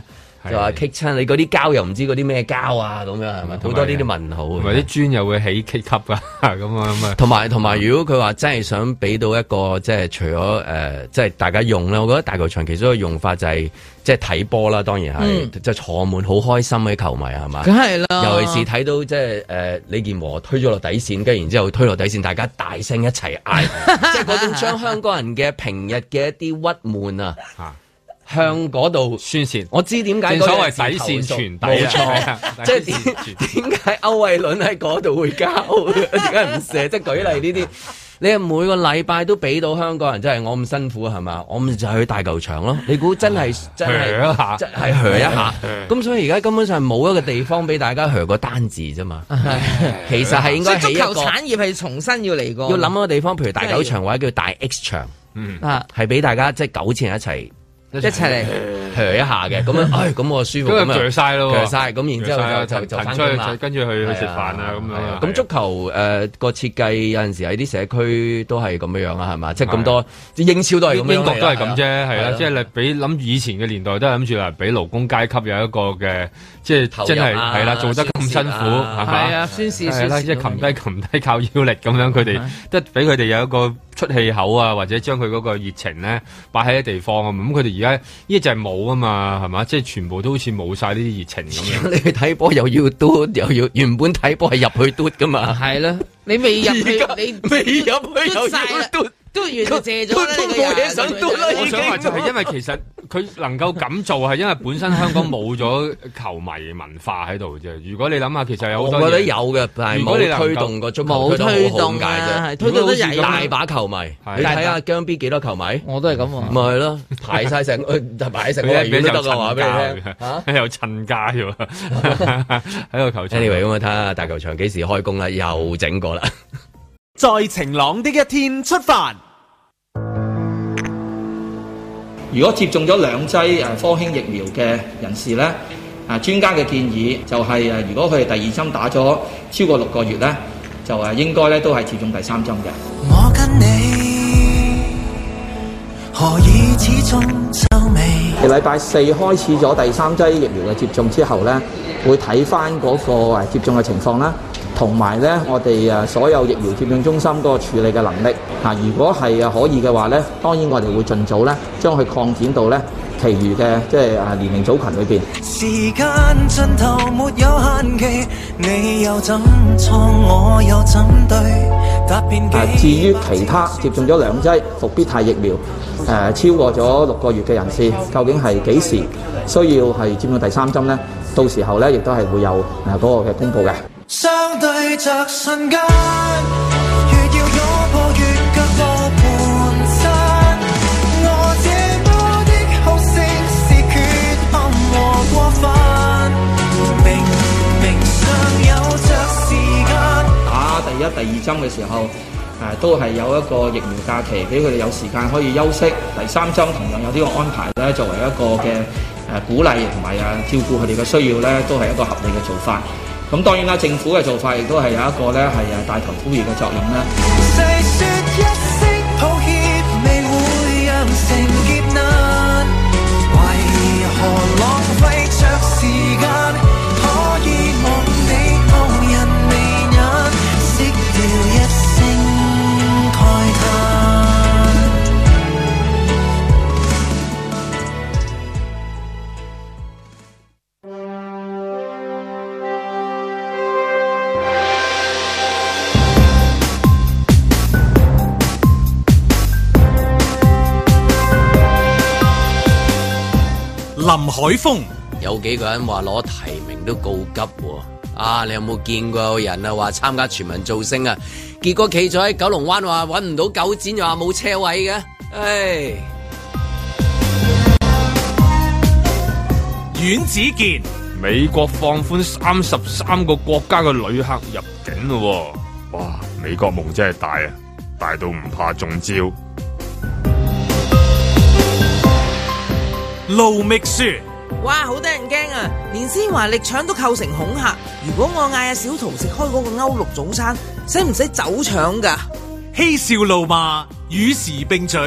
就話棘親你嗰啲膠又唔知嗰啲咩膠啊咁樣係咪？好多呢啲問號， 同埋啲磚又會起棘級噶咁啊。 同埋如果佢話真係想俾到一個即係除咗即係大家用咧，我覺得大球場其中一個用法就係即係睇波啦，當然係即係坐滿好開心嘅球迷係嘛？ 梗係啦， 尤其是睇到即係李健和推咗落底線，跟住然之後推落底線，大家大聲一齊嗌，即係嗰種將香港人嘅平日嘅一啲鬱悶啊。向嗰度宣泄，我知點解。正所謂底線傳遞，冇錯。即係點解歐偉倫喺嗰度會交？點解唔射？即係舉例呢啲，你係每個禮拜都俾到香港人，真係我咁辛苦係嘛？我咪就去大球場咯。你估真係真係一下？咁所以而家根本上冇一個地方俾大家個單字啫嘛。其實係應該起一個足球產業係重新要嚟過， 要諗一個地方，譬如大球場或者叫大 X 場，係俾大家即係糾纏一齊。一齊嚟hö一下嘅，咁樣，咁我舒服咁樣，晒咯，晒，咁然之後就翻工啦， 跟住去食飯啊咁樣。 咁足球個設計有陣時喺啲社區都係咁樣啊，係嘛？即係咁多，英超都係咁樣， 英國都係咁啫，係啦。即係你俾諗以前嘅年代都係諗住啦，俾勞工階級有一個嘅，即係真係係啦，做得咁辛苦係嘛？係啊，宣示係啦，即係擒低靠腰力咁樣，佢哋都俾佢哋有一個出氣口啊，或者將佢嗰個熱情咧擺喺啲地方啊，咁佢哋而家呢就係冇啊嘛，係嘛？即係全部都好似冇晒呢啲熱情咁樣。你去睇波又要嘟，又要原本睇波係入去嘟噶嘛？ 係啦，你未入去，你未入去又要嘟。 都完就借咗啦， 都冇嘢想嘟啦。 我想話就係因為其實佢能夠咁做係因為本身香港冇咗球迷文化喺度啫。如果你諗下，其實有好多嘢，我覺得有嘅，但係冇推動個足球， 冇推動嘅，推動得曳大把球迷。你睇下姜 B 幾多球迷？我都係咁話。咪係咯，排晒成排成個維園都得嘅話俾你聽嚇， 有襯家喎喺個球場。 Anyway，咁我睇下大球場幾時開工啦？又整過啦。 在晴朗的一天出發。 如果接種咗2劑科興疫苗嘅人士咧，專家嘅建議就係如果佢哋第2針打咗超過6個月咧，就應該咧都係接種第3針嘅。我跟你何以始終皺眉？禮拜4開始咗第3劑疫苗嘅接種之後咧，會睇翻嗰個接種嘅情況啦。同埋咧，我哋所有疫苗接種中心嗰個處理嘅能力嚇，如果係可以嘅話咧，當然我哋會盡早咧將佢擴展到咧其餘嘅即係年齡組群裏邊。時間盡頭沒有限期，你又怎錯我又怎對？至於其他接種咗2劑復必泰疫苗超過咗6個月嘅人士，究竟係幾時需要係接種第3針咧？到時候咧亦都係會有嗰個嘅公佈嘅。相對着瞬間，越要擁抱越腳步蹣跚。我這麼的好勝是缺陷和過分，明明尚有着時間。打第1、第2針嘅時候，都係有一個疫苗假期，俾佢哋有時間可以休息。第3針同樣有呢個安排咧，作為一個嘅鼓勵同埋照顧佢哋嘅需要咧，都係一個合理嘅做法。咁當然啦，政府嘅做法亦都係有一個咧係帶頭呼籲嘅作用啦。誰說一聲抱歉未會釀成劫難？為何浪費着時間？可以望你望人眉眼，熄掉一聲慨嘆。 林海峰有幾個人話攞提名都告急喎，你有冇見過有人話參加全民造星啊？結果企咗喺九龍灣話搵唔到9展，又話冇車位嘅， 阮子健， 美國放寬33個國家嘅旅客入境咯，哇！美國夢真係大啊，大到唔怕中招。 盧覓雪， 哇，好得人驚啊！連施華力腸都構成恐嚇。如果我嗌阿小桃食開嗰個歐陸早餐，使唔使走腸噶？ 嬉笑怒罵，與時並舉，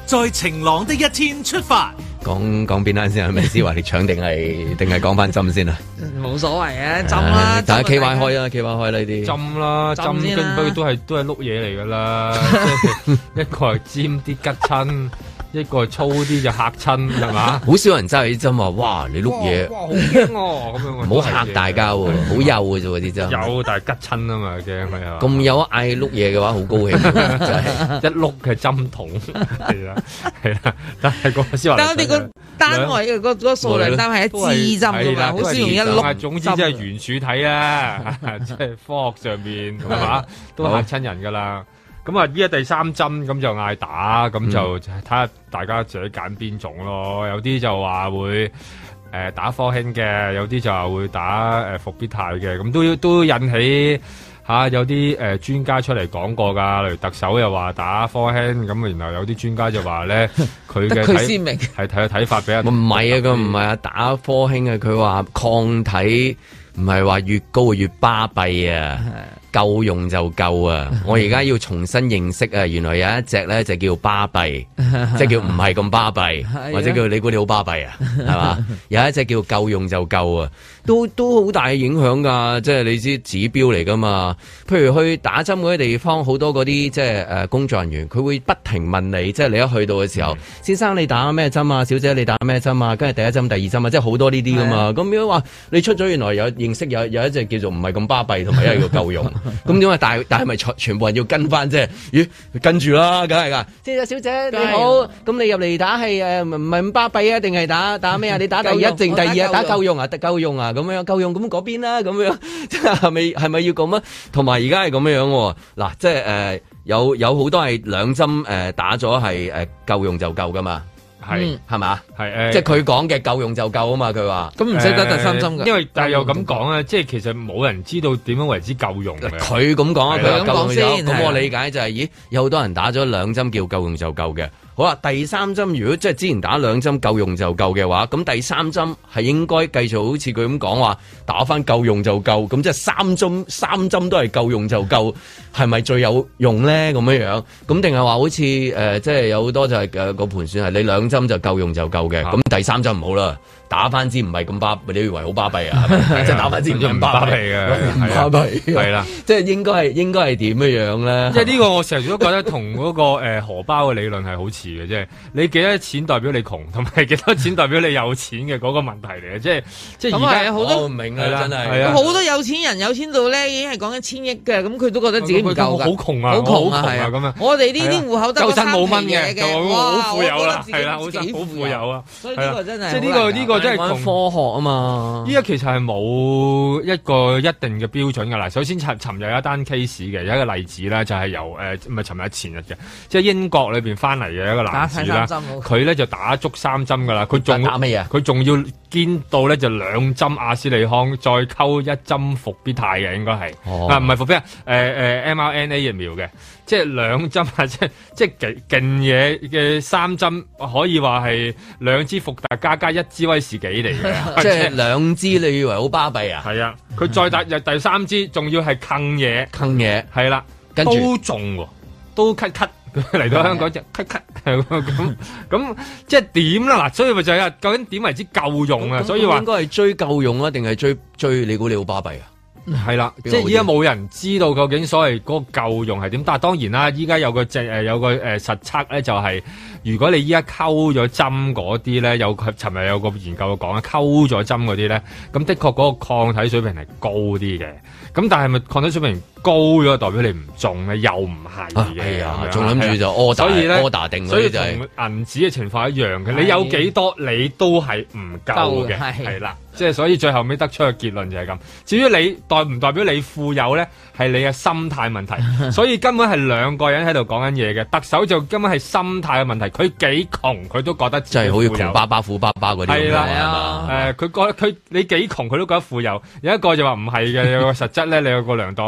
在晴朗的一天出發。 講邊單先係咪先？話你搶定係講翻針先啊？ 冇所謂啊，針啦， 大家 KY 開啊，KY 開呢啲針啦，針跟不過都係碌嘢嚟噶啦，一個係尖啲吉親。一個粗啲就嚇親係嘛？ 好少人揸起針話，哇！你碌嘢， 哇好驚喎！咁樣唔好嚇大家喎，好幼嘅啫喎啲針。 有，但係吉親啊嘛，驚係啊！ 咁有嗌碌嘢嘅話，好高興，就係一碌嘅針筒係啦，但係個先話。 但係我哋個單位嘅個數量單係一支針㗎嘛，好少用一碌。 總之即係圓柱體啦，即係科學上面係嘛，都嚇親人㗎啦。咁啊，依家第3針咁就嗌打，咁就睇下大家自己揀邊種咯。有啲就話會打科興嘅，有啲就話會打復必泰嘅，咁都引起有啲專家出嚟講過㗎。例如特首又話打科興，咁然後有啲專家就話咧佢嘅睇法比較唔係啊，佢唔係啊，打科興啊，佢話抗體唔係話越高越巴閉啊。夠用就夠啊！我而家要重新認識啊，原來有一隻咧就叫巴閉，即係叫唔係咁巴閉，或者叫你估你好巴閉啊，係嘛？有一隻叫夠用就夠啊，都好大影響噶，即係你知指標嚟噶嘛？譬如去打針嗰啲地方，好多嗰啲即係工作人員，佢會不停問你，即係你一去到嘅時候，先生你打咩針啊？小姐你打咩針啊？跟住第一針、第二針啊，即係好多呢啲噶嘛。咁如果話你出咗原來有認識有一隻叫做唔係咁巴閉，同埋一個叫夠用。咁點解？但係咪全部人要跟翻啫？咦，跟住啦，梗係噶。即係小姐你好，咁你入嚟打係唔係咁巴閉啊？定係打咩啊？你打第一定第二啊？打夠用啊？夠用啊？咁樣夠用咁嗰邊啦，咁樣即係咪要咁啊？同埋而家係咁樣喎。嗱，即係有好多係2針打咗係夠用就夠噶嘛。係嘛？係即係佢講嘅夠用就夠啊嘛！佢話咁唔使得第3針㗎。 因為但係又咁講啊，即係其實冇人知道點樣為之夠用嘅。 佢咁講啊，佢夠用先。 咁我理解就係，咦，有好多人打咗2針叫夠用就夠嘅。好啦，第3針如果即係之前打2針夠用就夠嘅話，咁第3針係應該繼續好似佢咁講話打翻夠用就夠，咁即係3針都係夠用就夠，係咪最有用咧？咁樣咁定係話好似即係有好多就係個盤算係你2針就夠用就夠嘅，咁第3針唔好啦。打翻支唔係咁巴，你以為好巴閉啊？即係打翻支唔咁巴閉嘅，巴閉係啦。即係應該係點樣咧？ 即係呢個我成日都覺得同嗰個荷包嘅理論係好似嘅，即係你幾多錢代表你窮，同埋幾多錢代表你有錢嘅嗰個問題嚟嘅。即係而家好多唔明啊，真係好多有錢人有錢到咧，已經係講緊1000億嘅，咁佢都覺得自己唔夠㗎， 好窮啊， 好窮啊咁樣。 我哋呢啲戶口得3 冇蚊嘅， 好富有啦，係啦，好富有啊。 所以呢個真係即係呢個真係科學啊嘛！ 依家其實係冇一個一定嘅標準㗎啦。首先尋日有一單 case 嘅，有一個例子啦，就係由唔係尋日前日嘅，即係英國裏邊翻嚟嘅一個男子啦。佢咧就打足3針㗎啦。佢仲打咩啊？ 佢仲要堅到咧就2針阿斯利康，再溝1針復必泰嘅應該係。唔係復必泰mRNA 疫苗嘅。即係2針啊！即係勁嘢嘅3針，可以話係2支伏特加1支威士忌嚟嘅。 即係2支，你以為好巴閉啊？ 係啊！佢再打第3支，仲要係坑嘢，係啦，跟住都中喎，都咳嚟到香港就咳咁，即係點啦？嗱，所以咪就係究竟點為之夠用啊？所以話應該係追夠用啊，定係追你估你好巴閉啊？ 係啦，即係依家冇人知道究竟所謂嗰個夠用係點，但係當然啦，依家有個實測咧，就係如果你依家溝咗針嗰啲咧，尋日有個研究講啊，溝咗針嗰啲咧，咁的確嗰個抗體水平係高啲嘅，咁但係咪抗體水平高咗代表你唔中咧？又唔係嘅， 仲諗住就order 定， 所以同銀紙嘅情況一樣嘅，你有幾多你都係唔夠嘅，係啦。即係所以最後尾得出嘅結論就係咁。至於你代唔代表你富有咧，係你嘅心態問題。所以根本係2個人喺度講緊嘢嘅。特首就根本係心態嘅問題。佢幾窮佢都覺得自己富有， 即係好似窮爸爸富爸爸嗰啲。 係啦，佢覺得你幾窮佢都覺得富有。有一個就話唔係嘅，有個實質咧，你有個量度嘅方法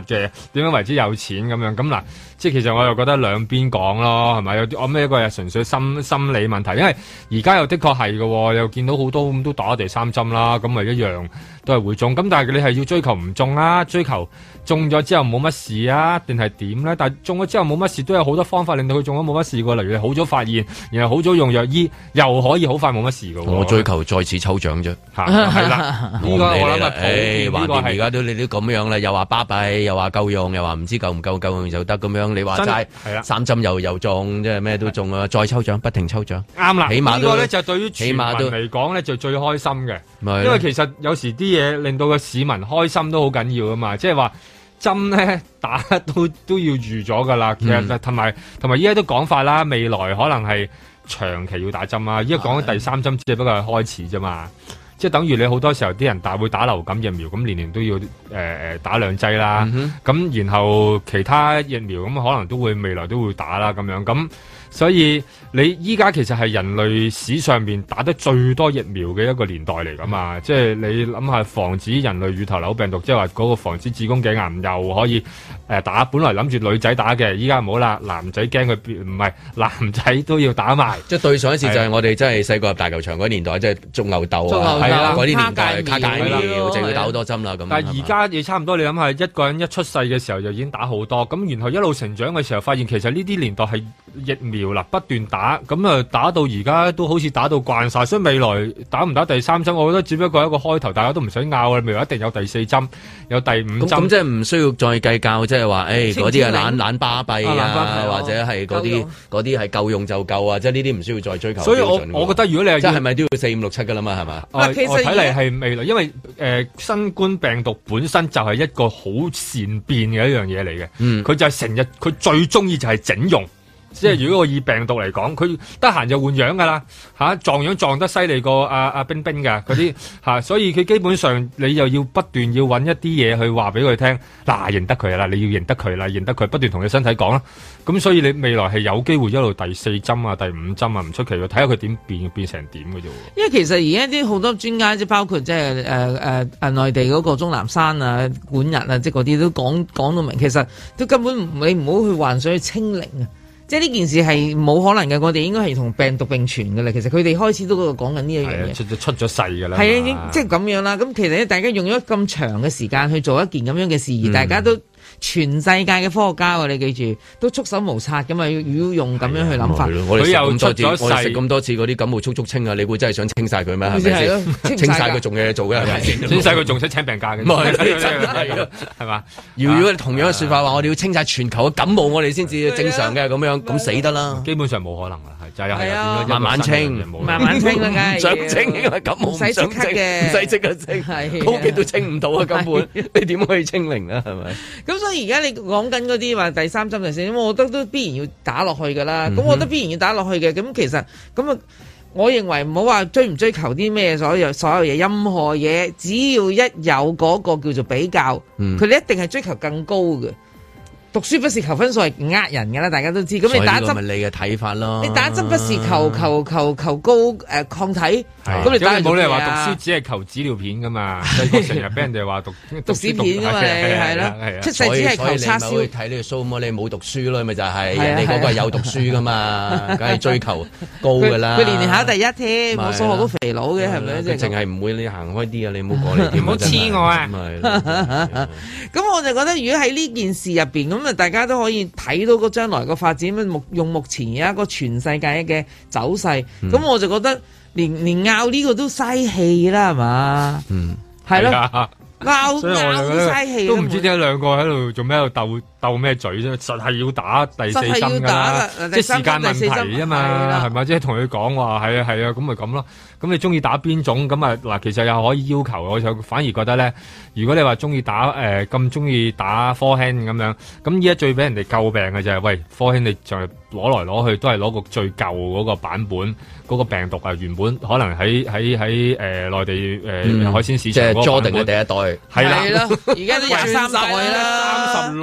嘅，點樣為之有錢咁樣？咁嗱，即係其實我又覺得兩邊講咯，係咪？有啲我咩一個係純粹心理問題，因為而家又的確係嘅，又見到好多咁都打第三針啦，咁咪一樣都係會中。咁但係你係要追求唔中啊，追求中咗之後冇乜事啊，定係點咧？但係中咗之後冇乜事，都有好多方法令到佢中咗冇乜事嘅，例如好早發現，然後好早用藥醫，又可以好快冇乜事嘅。 我追求再次抽獎啫， 係啦，呢個我諗係橫掂而家都你都咁樣啦，又話巴閉，又話夠用，又話唔知夠唔夠用就得咁樣。你話齋三針又中，即係咩都中啊！再抽獎，不停抽獎， 啱啦。 起碼呢個咧就對於全民嚟講咧就最開心嘅，因為其實有時啲嘢令到個市民開心都好緊要啊嘛，即係話針咧打都要預咗噶啦。其實同埋依家都講法啦，未來可能係長期要打針啊。依家講緊第三針只不過係開始啫嘛。即係等於你好多時候啲人會打流感疫苗，咁年年都要打2劑啦。咁然後其他疫苗咁可能都會未來都會打啦咁樣。咁所以你依家其實係人類史上面打得最多疫苗嘅一個年代嚟㗎嘛。即係你諗下防止人類乳頭瘤病毒，即係話嗰個防止子宮頸癌又可以打。本來諗住女仔打嘅，依家唔好啦，男仔驚佢唔係男仔都要打埋。 即係對上一次就係我哋真係細個入大球場嗰年代，即係種牛痘啊，嗰啲年代卡介苗就要打好多針啦。咁但係而家你差唔多，你諗下一個人一出世嘅時候就已經打好多，咁然後一路成長嘅時候，發現其實呢啲年代係疫苗啦，不斷打，咁啊打到而家都好似打到慣晒，所以未來打唔打第三針，我覺得只不過係一個開頭，大家都唔使拗啦，未來一定有第4針，有第5針。咁即係唔需要再計較，即係話誒嗰啲係懶巴閉啊，或者係嗰啲係夠用就夠啊，即係呢啲唔需要再追求。 所以我覺得如果你係即係咪都要4、5、6、7㗎啦嘛，係嘛？ 我睇嚟係未來，因為新冠病毒本身就係一個好善變嘅一樣嘢嚟嘅，佢就係成日佢最中意就係整容。即係如果我以病毒嚟講，佢得閒就換樣噶啦，撞樣撞得犀利過阿冰冰噶嗰啲所以佢基本上你又要不斷要揾一啲嘢去話俾佢聽，嗱認得佢啦，你要認得佢啦，認得佢，不斷同你身體講啦。咁所以你未來係有機會一路第4針啊、第5針啊，唔出奇嘅，睇下佢點變成點嘅啫。 因為其實而家啲好多專家，即係包括即係內地嗰個鍾南山啊、管日啊，即係嗰啲都講到明，其實都根本你唔好去幻想去清零啊。即係呢件事係冇可能嘅，我哋應該係同病毒並存嘅啦。其實佢哋開始都講緊呢一樣嘢， 出咗世㗎啦。 係啊，即係咁樣啦。咁其實咧，大家用咗咁長嘅時間去做一件咁樣嘅事，而大家都全世界嘅科學家，你記住都束手無策㗎嘛。要用咁樣去諗法。 佢又出咗世，我哋食咁多次嗰啲感冒速清啊，你會真係想清晒佢咩？係咪先？清晒佢仲有嘢做嘅係咪先？ 清晒佢仲使請病假嘅？係嘛？ 如果同樣嘅説法話，我哋要清晒全球嘅感冒，我哋先至正常嘅咁樣。咁死得啦！ 基本上冇可能啦，就係慢慢清， 慢慢清啦，梗係想清，因為感冒唔使即刻嘅，唔使即刻清，高級都清唔到啊！根本你點可以清零啊？係咪？ 咁所以而家你講緊嗰啲話第3針第4針，我覺得都必然要打落去㗎啦。咁我覺得必然要打落去嘅。咁其實咁啊，我認為唔好話追唔追求啲咩所有嘢，任何嘢只要一有嗰個叫做比較，佢哋一定係追求更高嘅。讀書不是求分數係呃人㗎啦，大家都知。咁你打針咪你嘅睇法咯。 你打針不是求高抗體。咁你打冇理由話讀書只係求紙尿片㗎嘛？細個成日俾人哋話讀屎片㗎嘛？係啦，出世只係求叉燒。 所以你咪去睇呢個 show 麼？你冇讀書咯，咪就係人哋嗰個係有讀書㗎嘛，梗係追求高㗎啦。 佢年年考第一添，我數學都肥佬嘅係咪？ 淨係唔會你行開啲啊！你唔好過嚟添， 唔好黐我啊！ 咁我就覺得，如果喺呢件事入邊咁啊，大家都可以睇到個將來個發展，用目前而家個全世界嘅走勢，咁我就覺得連拗呢個都嘥氣啦，係嘛？係咯，拗嘥氣， 都唔知點解兩個喺度做咩喺度鬥咩嘴啫？實係要打第4針㗎啦，即係時間問題啊嘛，係咪？即係同佢講話係啊，咁咪咁咯。咁你中意打邊種咁啊？嗱，其實又可以要求，我就反而覺得咧，如果你話中意打咁中意打科興咁樣，咁依家最俾人哋詬病嘅就係，喂，科興你就係攞來攞去都係攞個最舊嗰個版本嗰個病毒啊，原本可能喺內地海鮮市場， 即係 Jordan 嘅第一代， 係啦， 而家都23代啦， 36代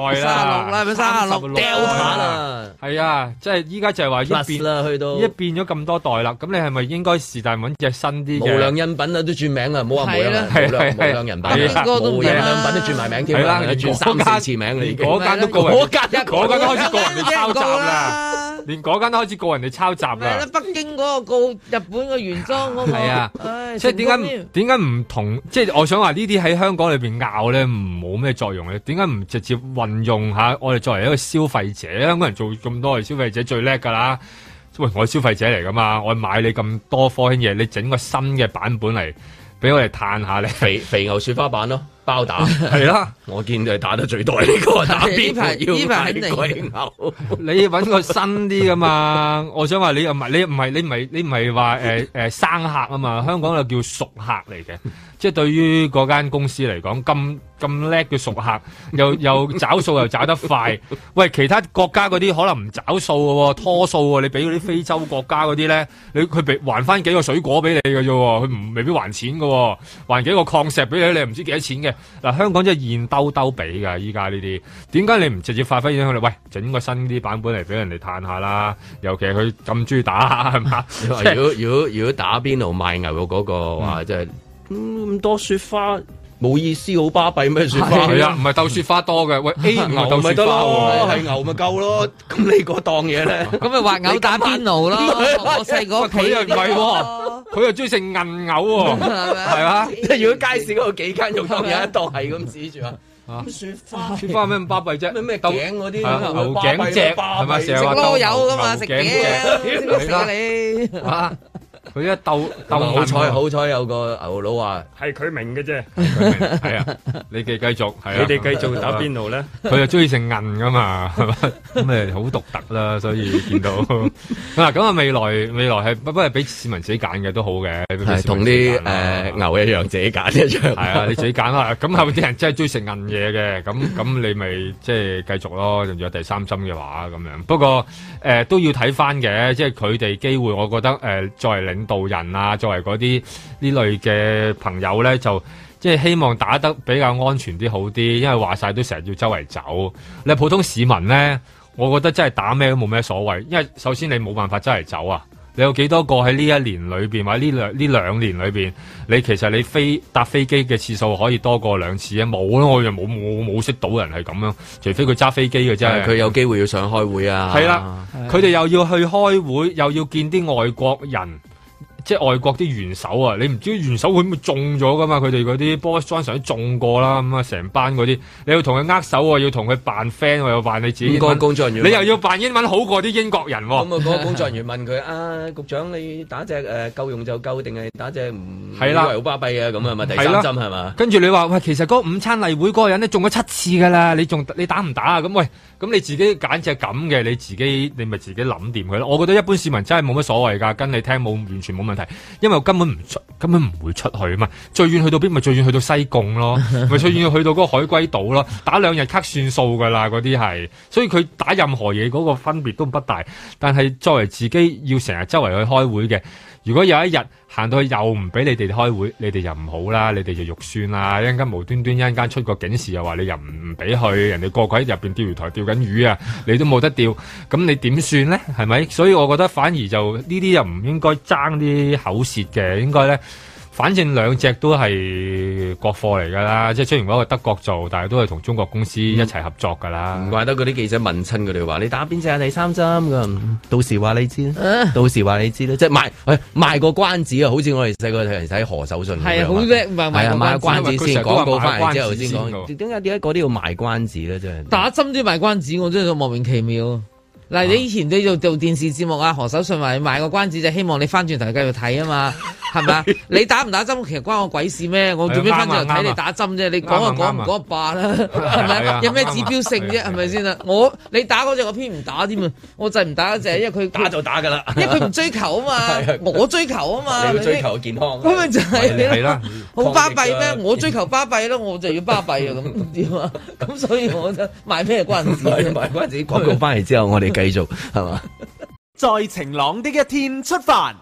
代啦， 36啦，咪36掉下啦，係啊，即係依家就係話一變啦，去到一變咗咁多代啦，咁你係咪應該是但揾隻新啲嘅？ 無良印品啊，都轉名啦，唔好話無良人品，無良印品都轉埋名添啦，轉3-4次名你嗰間都告人，嗰間都開始告人哋抄襲啦，連嗰間都開始告人哋抄襲啦。 北京嗰個告日本嘅原裝嗰個， 係啊，即係點解唔同？即係我想話呢啲喺香港裏邊拗咧，冇咩作用咧？點解唔直接運用下我哋作為一個消費者？香港人做咁多係消費者最叻㗎啦。喂，我係消費者嚟㗎嘛，我買你咁多科興嘢，你整個新嘅版本嚟俾我哋嘆下你肥牛雪花版咯。包打係啦，我見佢打得最多呢個打邊爐要買貴牛，你揾個新啲噶嘛？我想話你唔係話生客啊嘛？香港就叫熟客嚟嘅，即係對於嗰間公司嚟講咁叻嘅熟客，又找數又找得快。喂，其他國家嗰啲可能唔找數嘅喎，拖數喎。你俾嗰啲非洲國家嗰啲咧，佢還翻幾個水果俾你嘅啫，佢未必還錢嘅，還幾個礦石俾你，你唔知幾多錢嘅。嗱，香港真係現兜兜比㗎，依家呢啲點解你唔直接發揮影響力？喂，整個新啲版本嚟俾人哋嘆下啦，尤其係佢咁中意打係嘛？ 如果打邊爐賣牛肉嗰個話，即係咁多雪花。冇意思，好巴閉咩雪花？ 係啊，唔係鬥雪花多嘅。喂 A 牛鬥雪花喎， 係牛咪夠咯。咁你嗰檔嘢咧？ 咁咪話牛打邊爐咯。我細個佢又唔係喎，佢又中意食韌牛喎，係嘛？ 即係如果街市嗰度幾間肉檔有一檔係咁指住啊，雪花有咩咁巴閉啫？ 咩頸嗰啲牛頸脊係咪？成日話都有噶嘛？食頸脊，食你啊！佢一鬥好彩有個牛佬話係佢明嘅啫， 係啊，你哋繼續，係啊， 你哋繼續打邊爐咧， 佢又中意食韌噶嘛，係嘛，咁咪好獨特啦，所以見到嗱咁啊，未來係不過係俾市民自己揀嘅都好嘅， 係同啲牛一樣自己揀一樣， 係啊，你自己揀啦，咁後邊啲人真係中意食韌嘢嘅，咁你咪即係繼續咯，仲有第三針嘅話咁樣，不過都要睇翻嘅，即係佢哋機會，我覺得作為領導人啊，作為嗰啲呢類嘅朋友咧，就即係希望打得比較安全啲好啲，因為話晒都成日要周圍走。你係普通市民咧，我覺得真係打咩都冇咩所謂，因為首先你冇辦法周圍走啊。你有幾多個喺呢一年裏邊，或者呢兩年裏邊，你其實你搭飛機嘅次數可以多過2次啊？冇咯，我又冇識到人係咁樣，除非佢揸飛機嘅啫。 佢有機會要上開會啊。 係啦，佢哋又要去開會，又要見啲外國人。即係外國啲元首啊，你唔知元首會唔會中咗噶嘛？佢哋嗰啲 Boris Johnson 都中過啦，咁啊成班嗰啲，你要同佢握手喎，要同佢扮 friend 喎，又扮你自己。 個工作人員， 你又要扮英文好過啲英國人喎。咁啊，嗰個工作人員問佢啊，局長你打隻夠用就夠，定係打隻唔係啦， 好巴閉啊咁啊？咪第三針係嘛？ 跟住你話喂，其實嗰午餐例會嗰個人咧中咗7次噶啦，你打唔打啊？咁喂，咁你自己揀隻咁嘅，你咪自己諗掂佢咯。我覺得一般市民真係冇乜所謂㗎，跟你聽完全冇問題，因為根本唔會出去啊嘛，最遠去到邊咪最遠去到西貢咯，咪最遠去到嗰個海龜島咯，打2日卡算數噶啦，嗰啲係，所以佢打任何嘢嗰個分別都不大。但係作為自己要成日周圍去開會嘅，如果有一日行到去又唔俾你哋開會，你哋就唔好啦，你哋就肉酸啦，一陣間無端端一陣間出個警示又話你又唔俾去，人哋個個喺入邊釣魚台釣緊魚啊，你都冇得釣，咁你點算咧？係咪？所以我覺得反而就呢啲又唔應該爭啲口舌嘅，應該咧。反正兩隻都係國貨嚟㗎啦，即係雖然嗰個德國做，但係都係同中國公司一齊合作㗎啦。 唔怪得嗰啲記者問親佢哋話：你打邊隻啊？第3針㗎？到時話你知啦，到時話你知啦。即係賣個關子啊！好似我哋細個睇人睇何守信咁樣。係啊，好叻賣關子先，廣告翻嚟之後先講。點解嗰啲要賣關子咧？真係打針都要賣關子，我真係莫名其妙。嗱，你以前你做電視節目啊，何守信話賣個關子就希望你翻轉頭繼續睇啊嘛，係咪啊？你打唔打針其實關我鬼事咩？我做咩翻轉頭睇你打針啫？你講就講，唔講就罷啦，係咪？有咩指標性啫？係咪先啊？你打嗰隻我偏唔打添啊！我就係唔打嗰隻，因為佢打就打㗎啦， 因為佢唔追求啊嘛，我追求啊嘛， 你要追求健康， 咁咪就係啦， 好巴閉咩？我追求巴閉咯，我就要巴閉啊咁點啊？咁所以我就賣咩關子？ 賣關子廣告翻嚟之後，我哋繼續係嘛？ 在晴朗的一天出發。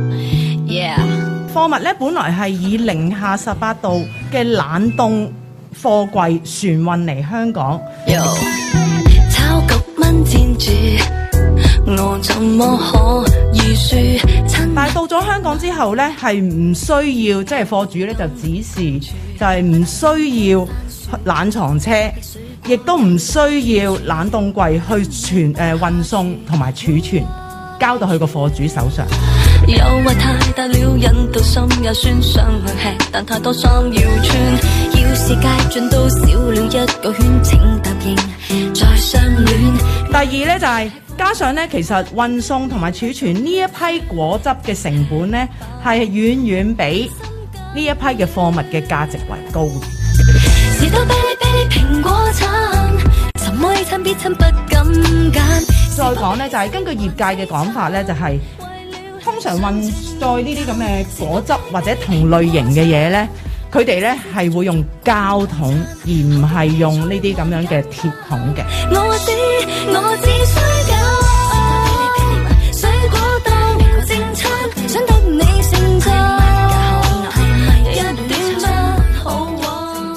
貨物咧本來係以零下18度嘅冷凍貨櫃船運嚟香港。 炒局蚊戰住，我怎麼可以輸？ 但係到咗香港之後呢，係唔需要即係貨主呢就指示，就係唔需要冷藏車，亦都唔需要冷凍櫃去運送同埋儲存，交到去個貨主手上。 誘惑太大了，引到心也酸，想去吃，但太多衫要穿。要是界盡到少了一個圈，請答應再相戀。 第二呢，就係、加上呢，其實運送同埋儲存呢一批果汁嘅成本呢，係遠遠比呢一批嘅貨物嘅價值為高嘅。 士多啤梨啤梨蘋果橙，什麼親必親不敢揀。 再講呢，就係、根據業界嘅講法呢，就係、通常運載呢啲咁嘅果汁或者同類型嘅嘢呢，佢哋呢係會用膠桶，而唔係用呢啲咁樣嘅鐵桶嘅。 我只需有水果當正餐，想得你成就一點不好玩。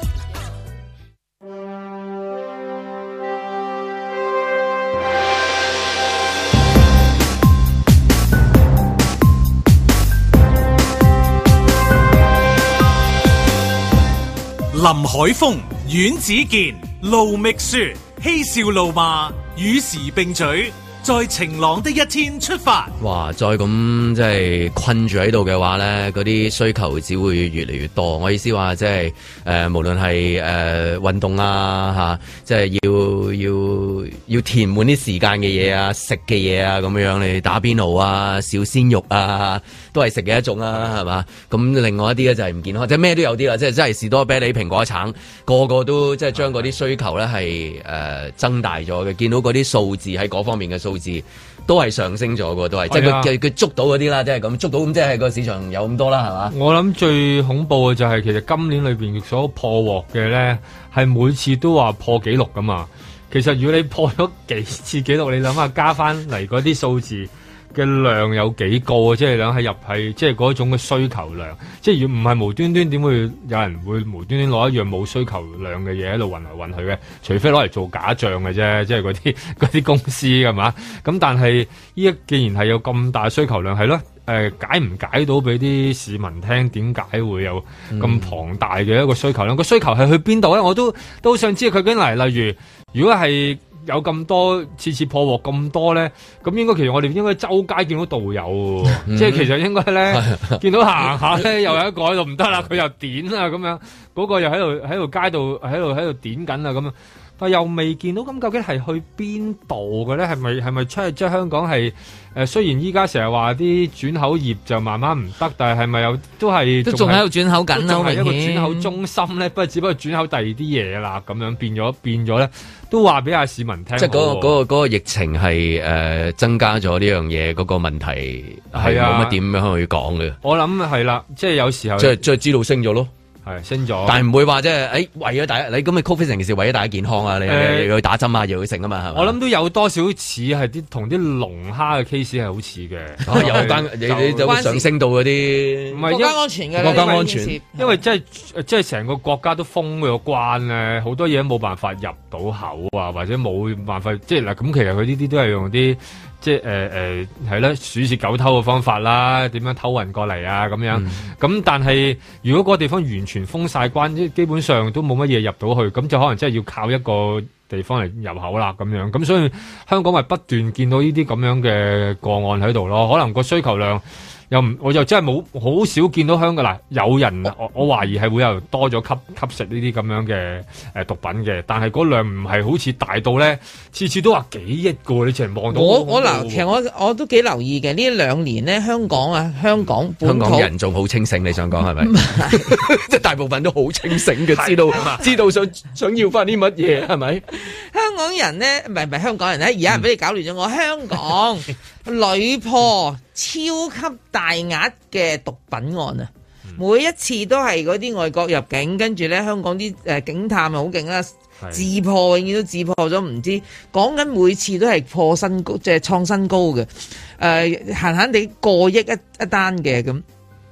林海峰、阮子健、盧覓雪，嬉笑怒罵，與時並舉，在晴朗的一天出發。 哇！再咁即係困住喺度嘅話咧，嗰啲需求只會越嚟越多。我意思話即係無論係運動啊即係要填滿啲時間嘅嘢啊，食嘅嘢啊咁樣，你打邊爐啊、小鮮肉啊，都係食嘅一種啊，係嘛？咁另外一啲咧就係唔健康，即係咩都有啲啦，即係真係士多啤梨、蘋果橙，個個都即係將嗰啲需求咧係增大咗嘅。見到嗰啲數字喺嗰方面嘅數字都係上升咗嘅，都係即係佢捉到嗰啲啦，即係咁捉到咁，即係個市場有咁多啦，係嘛？ 我諗最恐怖嘅就係其實今年裏邊所破獲嘅咧，係每次都話破紀錄噶嘛。其實如果你破咗幾次紀錄，你諗下加翻嚟嗰啲數字嘅量有幾高啊？即係諗係入係即係嗰種嘅需求量，即係如果唔係無端端點會有人會無端端攞一樣冇需求量嘅嘢喺度運來運去嘅？除非攞嚟做假象嘅啫，即係嗰啲公司係嘛？咁但係依家既然係有咁大需求量，係咯？解唔解到俾啲市民聽？點解會有咁龐大嘅一個需求量？個需求係去邊度咧？我都想知佢究竟嚟。例如，如果係有咁多次破獲咁多咧，咁應該其實我哋應該周街見到導遊，即係其實應該咧見到行下咧，又有一個喺度唔得啦，佢又點啊咁樣，嗰個又喺度街度喺度點緊啊咁樣。但又未見到，咁究竟係去邊度嘅咧？係咪出去即係香港係雖然依家成日話啲轉口業就慢慢唔得，但係咪有都仲喺度轉口緊啦？仲係一個轉口中心咧，只不過轉口第二啲嘢啦，咁樣變咗咧，都話俾下市民聽。即係嗰個疫情係增加咗呢樣嘢，嗰個問題係冇乜點樣去講嘅。 我諗係啦，即係有時候即係知道升咗咯。 係升咗， 但係唔會話即係為咗大家，你咁你 COVID 成件事為咗大家健康啊，你要去打針啊，又去食啊嘛，係嘛？ 我諗都有多少似係同啲龍蝦嘅 case 係好似嘅， 有關你就會上升到嗰啲唔係國家安全嘅， 國家安全， 因為即係成個國家都封咗關咧，好多嘢冇辦法入到口啊，或者冇辦法即係嗱咁，其實佢呢啲都係用啲。即係係啦，鼠竊狗偷嘅方法啦，點樣偷運過嚟啊咁樣。咁但係如果嗰個地方完全封晒關，基本上都冇乜嘢入到去，咁就可能真係要靠一個地方嚟入口啦咁樣。咁所以香港咪不斷見到呢啲咁樣嘅個案喺度咯。可能個需求量我又真係冇好少見到香港嗱，有人我懷疑係會有多咗吸食呢啲咁樣嘅毒品嘅，但係嗰量唔係好似大到咧，次次都話幾億個，你淨係望到我嗱，其實我都幾留意嘅呢兩年咧，香港人仲好清醒，你想講係咪？即係大部分都好清醒嘅，知道想要翻啲乜嘢係咪？ 香港人咧，唔係香港人咧，而家俾你搞亂咗我。香港屢破超級大額嘅毒品案啊！每一次都係嗰啲外國入境，跟住咧香港啲警探又好勁啦，自破永遠都自破咗，唔知講緊每次都係破新高，即係創新高嘅，閒閒地過億一單嘅咁。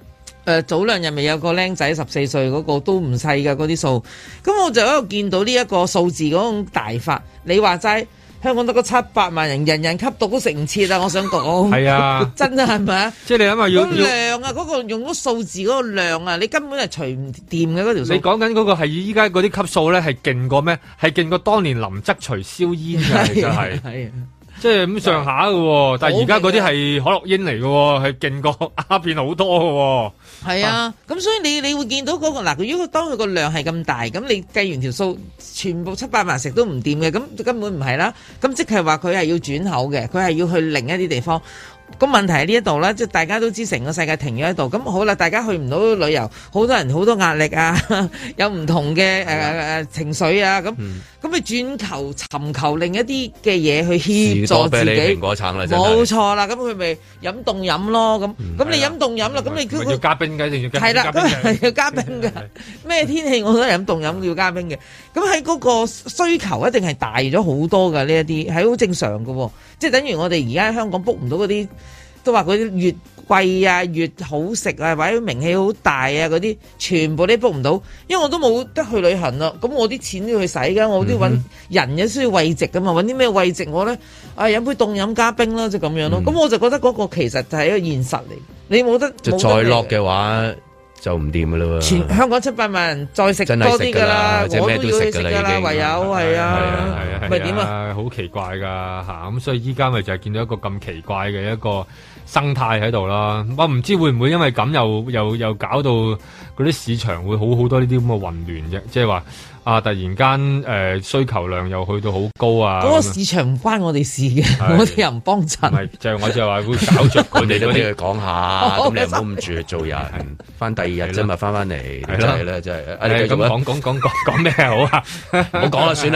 早2日咪有個僆仔14歲嗰個都唔細㗎嗰啲數，咁我就喺度見到呢一個數字嗰種大法。你話齋香港得個700萬人，人人吸毒都食唔切啊！我想講係啊， 真係咪啊？ 即係你諗下要量啊，嗰個用嗰數字嗰個量啊，你根本係除唔掂嘅嗰條數。 你講緊嗰個係依家嗰啲級數咧，係勁過咩？係勁過當年林則徐燒煙㗎，其實係。即係咁上下嘅喎，但係而家嗰啲係可樂英嚟嘅喎，係勁過鴉片好多嘅喎。係啊，咁所以你會見到嗰個嗱，如果當佢個量係咁大，咁你計完條數，全部700萬食都唔掂嘅，咁根本唔係啦。咁即係話佢係要轉口嘅，佢係要去另一啲地方。咁問題喺呢一度啦，即係大家都知成個世界停咗喺度，咁好啦，大家去唔到旅遊，好多人好多壓力啊，有唔同嘅情緒啊，咁咪轉求尋求另一啲嘅嘢去協助自己。 蘋果橙啦， 冇錯啦，咁佢咪飲凍飲咯，咁你飲凍飲啦，咁你要加冰嘅定要加冰？ 係啦，咁係要加冰嘅，咩天氣我都飲凍飲要加冰嘅。咁喺嗰個需求一定係大咗好多㗎，呢一啲係好正常嘅，即係等於我哋而家喺香港 book 唔到嗰啲。都話嗰啲越貴啊，越好食啊，或者名氣好大啊，嗰啲全部都 book 唔到，因為我都冇得去旅行啦。咁我啲錢都要去使㗎，我都要揾人嘅需要慰藉㗎嘛，揾啲咩慰藉我咧？飲杯凍飲加冰啦，就咁樣咯。咁我就覺得嗰個其實就係一個現實嚟，你冇得就再落嘅話就唔掂㗎啦喎。 全香港700萬人再食多啲㗎啦，我都要去食㗎啦，唯有係啊，咪點啊？ 好奇怪㗎嚇，咁所以依家咪就係見到一個咁奇怪嘅一個生態喺度啦。我唔知會唔會因為咁又搞到嗰啲市場會好多呢啲咁嘅混亂啫，即係話。突然間需求量又去到好高啊！ 嗰個市場唔關我哋事嘅，我哋又唔幫襯。 唔係，就係我就話會搞着佢哋嗰啲去講下，咁你唔好咁住做人，翻第2日啫嘛，翻嚟係啦，係啦，真係。 咁講咩好啊？ 唔好講啦，算啦，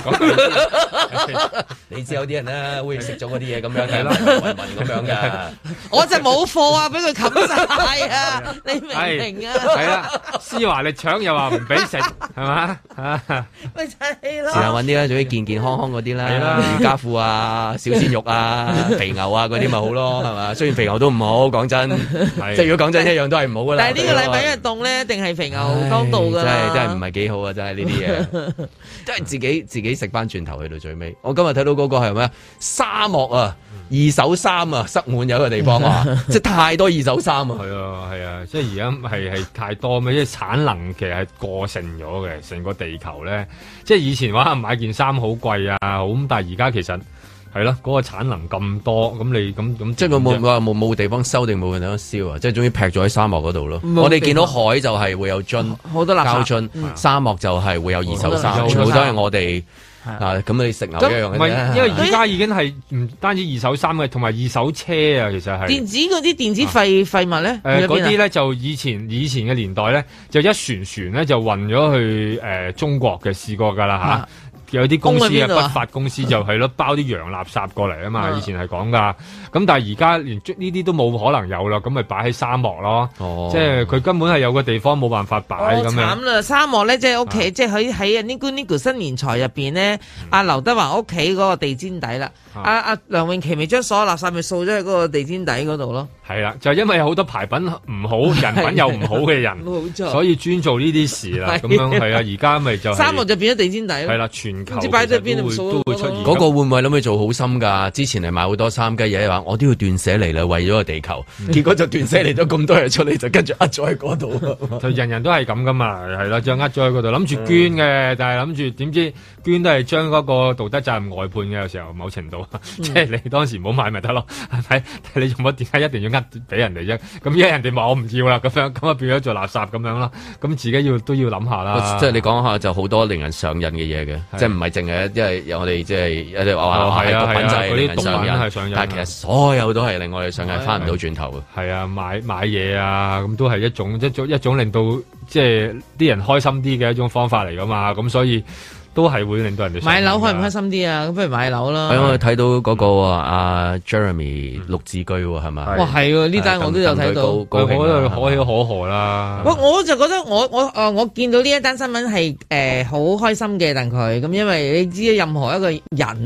係。你知有啲人咧會食咗嗰啲嘢咁樣，係啦，聞咁樣㗎。 我就冇貨啊，俾佢冚晒啊！你明唔明啊？ 係啦，施華力搶又話唔俾食，係嘛？ 咪就係咯， 試下揾啲啦，做啲健健康康嗰啲啦，瑜伽褲啊、小鮮肉啊、肥牛啊嗰啲咪好咯，係嘛？雖然肥牛都唔好，講真，即係如果講真一樣都係唔好噶啦。 但係呢個禮拜因為凍咧，定係肥牛當道噶啦。 真係唔係幾好啊！真係呢啲嘢，真係自己食翻轉頭去到最尾。我今日睇到嗰個係咩？沙漠啊！二手衫啊，塞滿有一個地方啊，即係太多二手衫啊。 係啊，即係而家係太多咩？即係產能其實係過剩咗嘅，成個地球咧。即係以前話買件衫好貴啊，好咁，但係而家其實係咯，嗰個產能咁多，咁你咁即係冇地方收定冇地方燒啊？即係終於劈咗喺沙漠嗰度咯。我哋見到海就係會有樽， 好多膠樽，沙漠就係會有二手衫，全部都係我哋。咁你食牛一樣嘅啫， 因為而家已經係唔單止二手衫嘅，同埋二手車啊，其實係電子嗰啲電子廢物咧， 嗰啲咧就以前嘅年代咧，就一船咧就運咗去中國嘅，試過㗎啦嚇。有啲公司不法公司就係咯，包啲洋垃圾過嚟啊嘛，以前係講㗎。咁但係而家連呢啲都冇可能有啦，咁咪擺喺沙漠咯。即係佢根本係有個地方冇辦法擺咁樣。 慘啦！沙漠咧，即係屋企，即係喺Nico 新年財入邊咧，阿劉德華屋企嗰個地氈底啦。阿梁詠琪咪將所有垃圾咪掃咗喺嗰個地氈底嗰度咯。 係啦，就因為有好多牌品唔好，人品又唔好嘅人，所以專做呢啲事啦。咁樣係啊，而家咪就沙漠就變咗地氈底咯。 係啦，全球唔知擺咗邊度都會出現。 嗰個會唔會諗佢做好心㗎？之前係買好多衫嘅嘢話，我都要斷捨離啦，為咗個地球。結果就斷捨離咗咁多嘢出嚟，就跟住呃咗喺嗰度。 就人人都係咁㗎嘛，係啦，就呃咗喺嗰度，諗住捐嘅，但係諗住點知捐都係將嗰個道德責任外判嘅，有時候某程度，即係你當時唔好買咪得咯，係咪？你做乜點解一定要呃俾人哋啫？咁而家人哋話我唔要啦，咁啊變咗做垃圾咁樣啦，咁自己都要諗下啦。 即係你講下就好多令人上癮嘅嘢嘅，即係唔係淨係因為我哋即係有啲話係毒品就係令人上癮，但係其實所有都係令我哋上癮，翻唔到轉頭嘅。 係啊，買嘢啊，咁都係一種令到即係啲人開心啲嘅一種方法嚟噶嘛，咁所以。都係會令到人哋買樓開唔開心啲啊？咁不如買樓啦。 係我睇到嗰個阿 Jeremy 綠置居係咪？ 哇，係喎！呢單我都有睇到， 我覺得可喜可賀啦。 我就覺得我見到呢一單新聞係好開心嘅，但佢咁，因為你知任何一個人啊。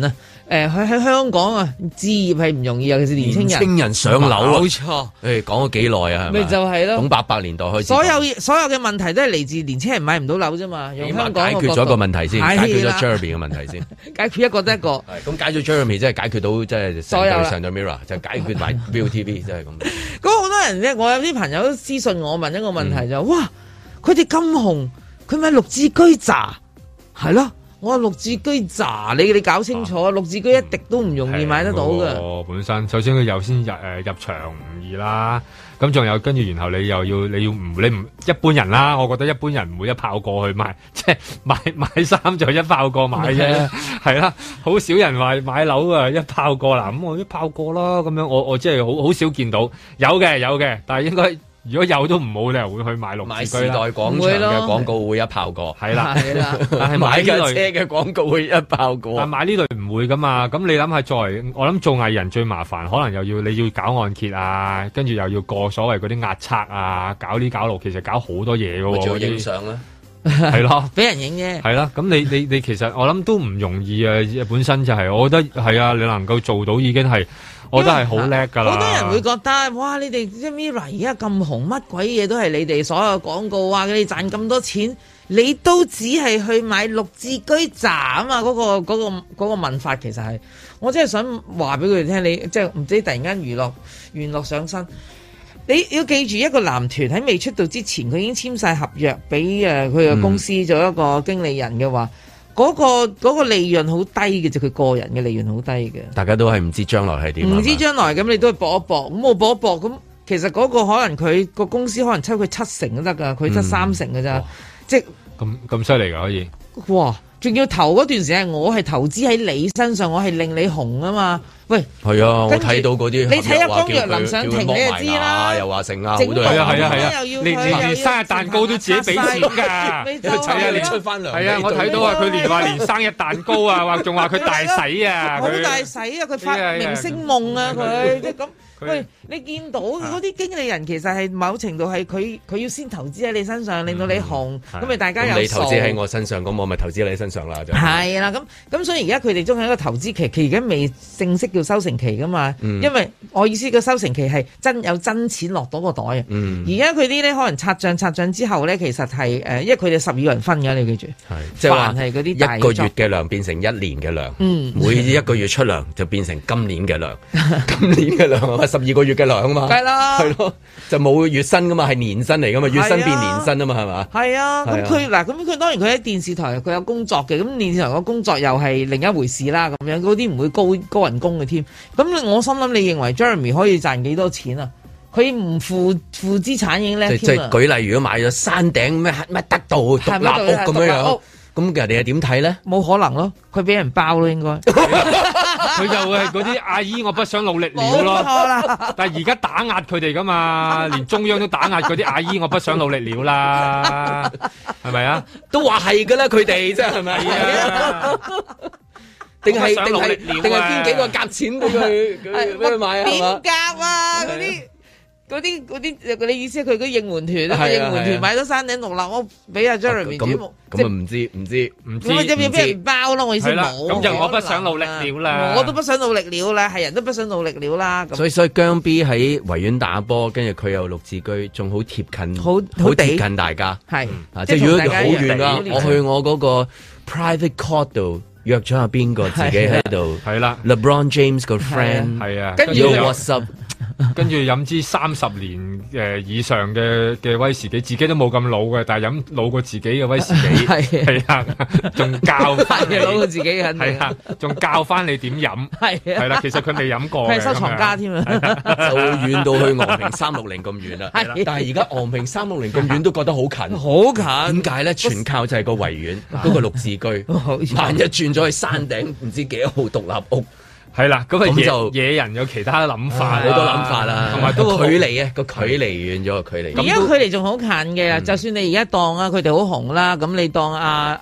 喺香港啊，置業係唔容易，尤其是年青人上樓啊， 冇錯。 誒，講咗幾耐啊？係咪？ 咪就係咯。 從800年代開始， 所有嘅問題都係嚟自年青人買唔到樓啫嘛。用香港解決咗一個問題先，解決咗 Jeremy 嘅問題先， 解決一個得一個。 咁解決 Jeremy 即係解決到即係所有上咗 Mirror 就解決埋 ViuTV 即係咁。 咁好多人咧，我有啲朋友都私信我問一個問題就：哇，佢哋咁紅，佢買綠置居咋？係咯。我話綠置居咋？你搞清楚，綠置居一滴都唔容易買得到嘅。 本身首先佢又先入場唔易啦，咁仲有跟住，然後你唔一般人啦，我覺得一般人唔會一炮過去買，即係買衫就一炮過買啫，係啦，好少人話買樓啊一炮過啦，咁我一炮過啦，咁樣我即係好少見到，有嘅，但係應該。如果有都唔好，你又會去買綠置居啦。買時代廣場嘅廣告會一炮過，係啦，但係買架車嘅廣告會一炮過。但買呢類唔會噶嘛，咁你諗下，我諗做藝人最麻煩，可能你要搞按揭啊，跟住又要過所謂嗰啲壓測啊，搞呢搞路，其實搞好多嘢噶喎。仲要影相啦，係咯，俾人影啫。係啦，咁你其實我諗都唔容易啊，本身就係，我覺得係啊，你能夠做到已經係。我都係好叻㗎啦！好多人會覺得，哇！你哋即係 Mirror 而家咁紅，乜鬼嘢都係你哋所有廣告啊！你賺咁多錢，你都只係去買綠置居咋啊嘛？嗰個問法其實係，我真係想話俾佢哋聽，你即係唔知突然間娛樂上身，你要記住一個男團喺未出道之前，佢已經簽晒合約俾佢嘅公司做一個經理人嘅話。嗰個利潤好低嘅，就佢個人嘅利潤好低嘅。大家都係唔知將來係點，唔知將來咁你都去搏一搏，咁我搏一搏咁，其實嗰個可能佢個公司可能抽佢7成都得㗎，佢得3成㗎咋，即係咁犀利㗎可以。哇！仲要頭嗰段時間，我係投資喺你身上，我係令你紅啊嘛。喂，係啊，我睇到嗰啲，你睇下江若琳上庭，你就知啦。又話成啊，好多係啊，連生日蛋糕都自己俾錢㗎。係啊，你出翻糧。係啊，我睇到啊，佢話連生日蛋糕啊，仲話佢大洗啊，好大洗啊，佢發明星夢啊，佢即係咁。喂，你見到嗰啲經理人其實係某程度係佢要先投資喺你身上，令到你紅，咁咪大家有數。你投資喺我身上，咁我咪投資喺你身上啦。就係啦，咁所以而家佢哋仲係一個投資期，而家未正式叫收成期噶嘛。因為我意思個收成期係有真錢落到個袋啊。而家佢啲咧可能拆帳之後咧，其實係因為佢哋12個人分㗎，你記住。即係話係嗰啲一個月嘅糧變成1年嘅糧，每一個月出糧就變成今年嘅糧，今年嘅糧12個月嘅糧啊嘛，係啦，係咯，就冇月薪噶嘛，係年薪嚟噶嘛，月薪變年薪啊嘛，係嘛？係啊，咁佢當然佢喺電視台佢有工作嘅，咁電視台個工作又係另一回事啦，咁樣嗰啲唔會高人工嘅添。咁我心諗，你認為 Jeremy 可以賺幾多錢啊？佢唔負資產已經叻添啊！即係舉例，如果買咗山頂咩得道獨立屋咁樣。咁人哋係點睇咧？冇可能咯，佢俾人包咯，應該。佢就會係嗰啲阿姨，我不想努力了咯。但係而家打壓佢哋噶嘛，連中央都打壓嗰啲阿姨，我不想努力了啦，係咪啊？都話係噶啦，佢哋真係咪啊？定係邊幾個夾錢俾佢買啊？點夾啊？嗰啲你意思係佢嗰應援團啊？應援團買咗山頂獨立屋俾阿 Jeremy 主幕，咁啊唔知，咁咪即係俾人包咯。我意思冇。咁就我不想努力了啦。我都不想努力了啦，係人都不想努力了啦。所以姜 B 喺維園打波，跟住佢有綠置居，仲好貼近，好貼近大家。係即係如果好遠啊，我去我嗰個 private court 度約咗阿邊個，自己喺度。係啦 ，LeBron James 個 friend 係啊，跟住 what's up。跟住飲支30年以上嘅威士忌，自己都冇咁老嘅，但係飲老過自己嘅威士忌，係啊，仲教翻你老過自己嘅，係啊，仲教翻你點飲，係啦，其實佢未飲過，佢係收藏家添啊，就遠到去昂坪360咁遠啦，但係而家昂坪360咁遠都覺得好近，好近，點解咧？全靠就係個維園嗰個綠置居，萬一轉咗去山頂，唔知幾多號獨立屋。係啦，咁就野人有其他諗法，好多諗法啦，同埋都距離啊，個距離遠咗個距離。而家距離仲好近嘅，就算你而家當啊，佢哋好紅啦，咁你當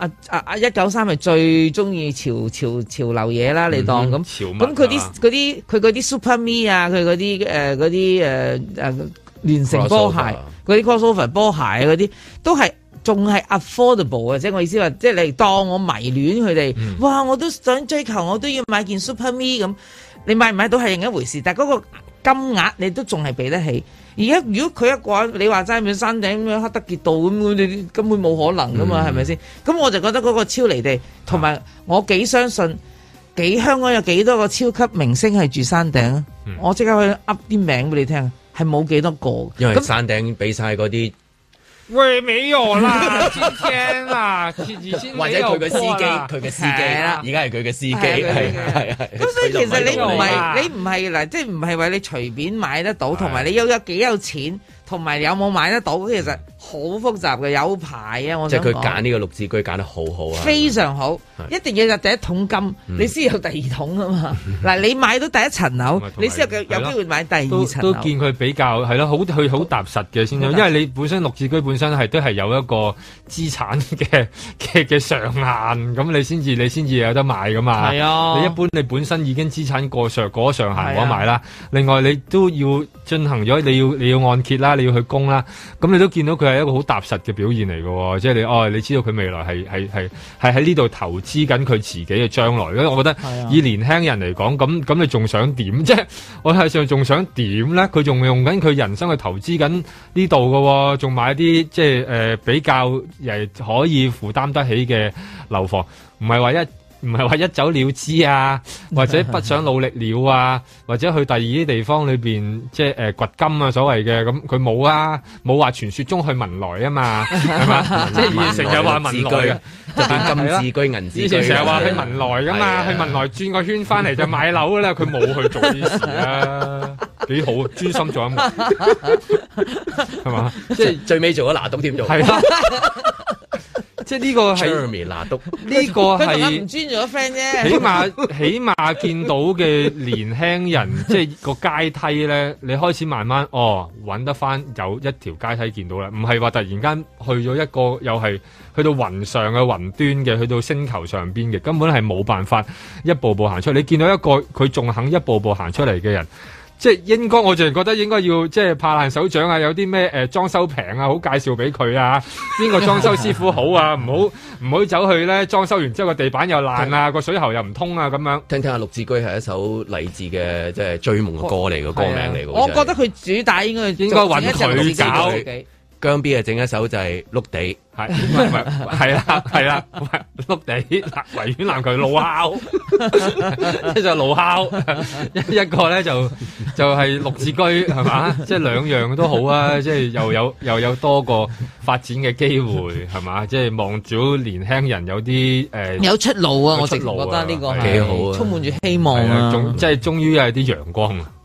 193係最中意潮流嘢啦，你當咁，咁佢嗰啲 Super Me 啊，佢嗰啲聯成波鞋，嗰啲 crossover 波鞋嗰啲都係仲係 affordable 啊！即係我意思話，即係你當我迷戀佢哋，哇！我都想追求，我都要買件 Super Me 咁。你買唔買到係另一回事，但係嗰個金額你都仲係俾得起。而家如果佢一個人，你話齋咁山頂咁樣黑德傑道咁，你根本冇可能噶嘛，係咪先？咁我就覺得嗰個超離地，同埋我幾相信，香港有幾多個超級明星係住山頂啊？我即刻去噏啲名俾你聽，係冇幾多個。 因為山頂俾晒嗰啲。 喂，沒有啦，今天啊， 或者佢嘅司機，而家係佢嘅司機，係。 咁所以其實你唔係嗱，即係唔係話你隨便買得到，同埋你有幾有錢，同埋有冇買得到，其實好複雜嘅，有排啊！我想講即係佢揀呢個綠置居揀得好好啊， 非常好，一定要有第一桶金，你先有第二桶啊嘛。嗱，你買到第一層樓，你先有機會買第二層樓。 都見佢比較係咯，佢好踏實嘅先，因為你本身綠置居本身都係有一個資產嘅上限，咁你先至有得買噶嘛。係啊，你一般你本身已經資產過上限冇得買啦。另外你都要進行咗，你要按揭啦，你要去供啦，咁你都見到佢係一個好踏實嘅表現嚟嘅，即係你知道佢未來係喺呢度投資緊佢自己嘅將來。因為我覺得以年輕人嚟講，咁你仲想點？即係我係上仲想點咧？佢仲用緊佢人生去投資緊呢度嘅，仲買啲即係比較可以負擔得起嘅樓房，唔係話一走了之啊，或者不想努力了啊，或者去第二啲地方裏邊即係掘金啊所謂嘅，咁佢冇啊，冇話傳說中去文萊啊嘛，係嘛？即係以前成日話文萊啊， 就變金置居、銀置居。 以前成日話去文萊噶嘛，去文萊轉個圈翻嚟就買樓噶啦，佢冇去做呢啲事啊，幾好，專心做音樂，係嘛？ 即係最尾做咗拿督添做。係啦。 即係呢個係呢個係唔專做咗 friend 啫。 起碼見到嘅年輕人，即係個階梯咧，你開始慢慢揾得翻有一條階梯見到啦，唔係話突然間去咗一個又係去到雲上嘅雲端嘅，去到星球上邊嘅，根本係冇辦法一步步行出嚟。你見到一個佢仲肯一步步行出嚟嘅人。即係應該，我淨係覺得應該要即係拍爛手掌啊！有啲咩裝修平啊，好介紹俾佢啊！邊個裝修師傅好啊？唔好走去咧裝修完之後個地板又爛啊，個水喉又唔通啊咁樣。 聽下綠置居係一首勵志嘅即係追夢嘅歌嚟嘅歌名嚟嘅。 我覺得佢主打應該揾佢搞。 姜 B 啊，整一首就係碌地， 係啦，碌地維園籃球怒敲，一就怒敲，一個咧就係綠置居係嘛，即係兩樣都好啊，即係又有多個發展嘅機會係嘛，即係望住年輕人有啲有出路啊，我直覺得呢個係幾好啊，充滿住希望啊， 即係終於有啲陽光啊。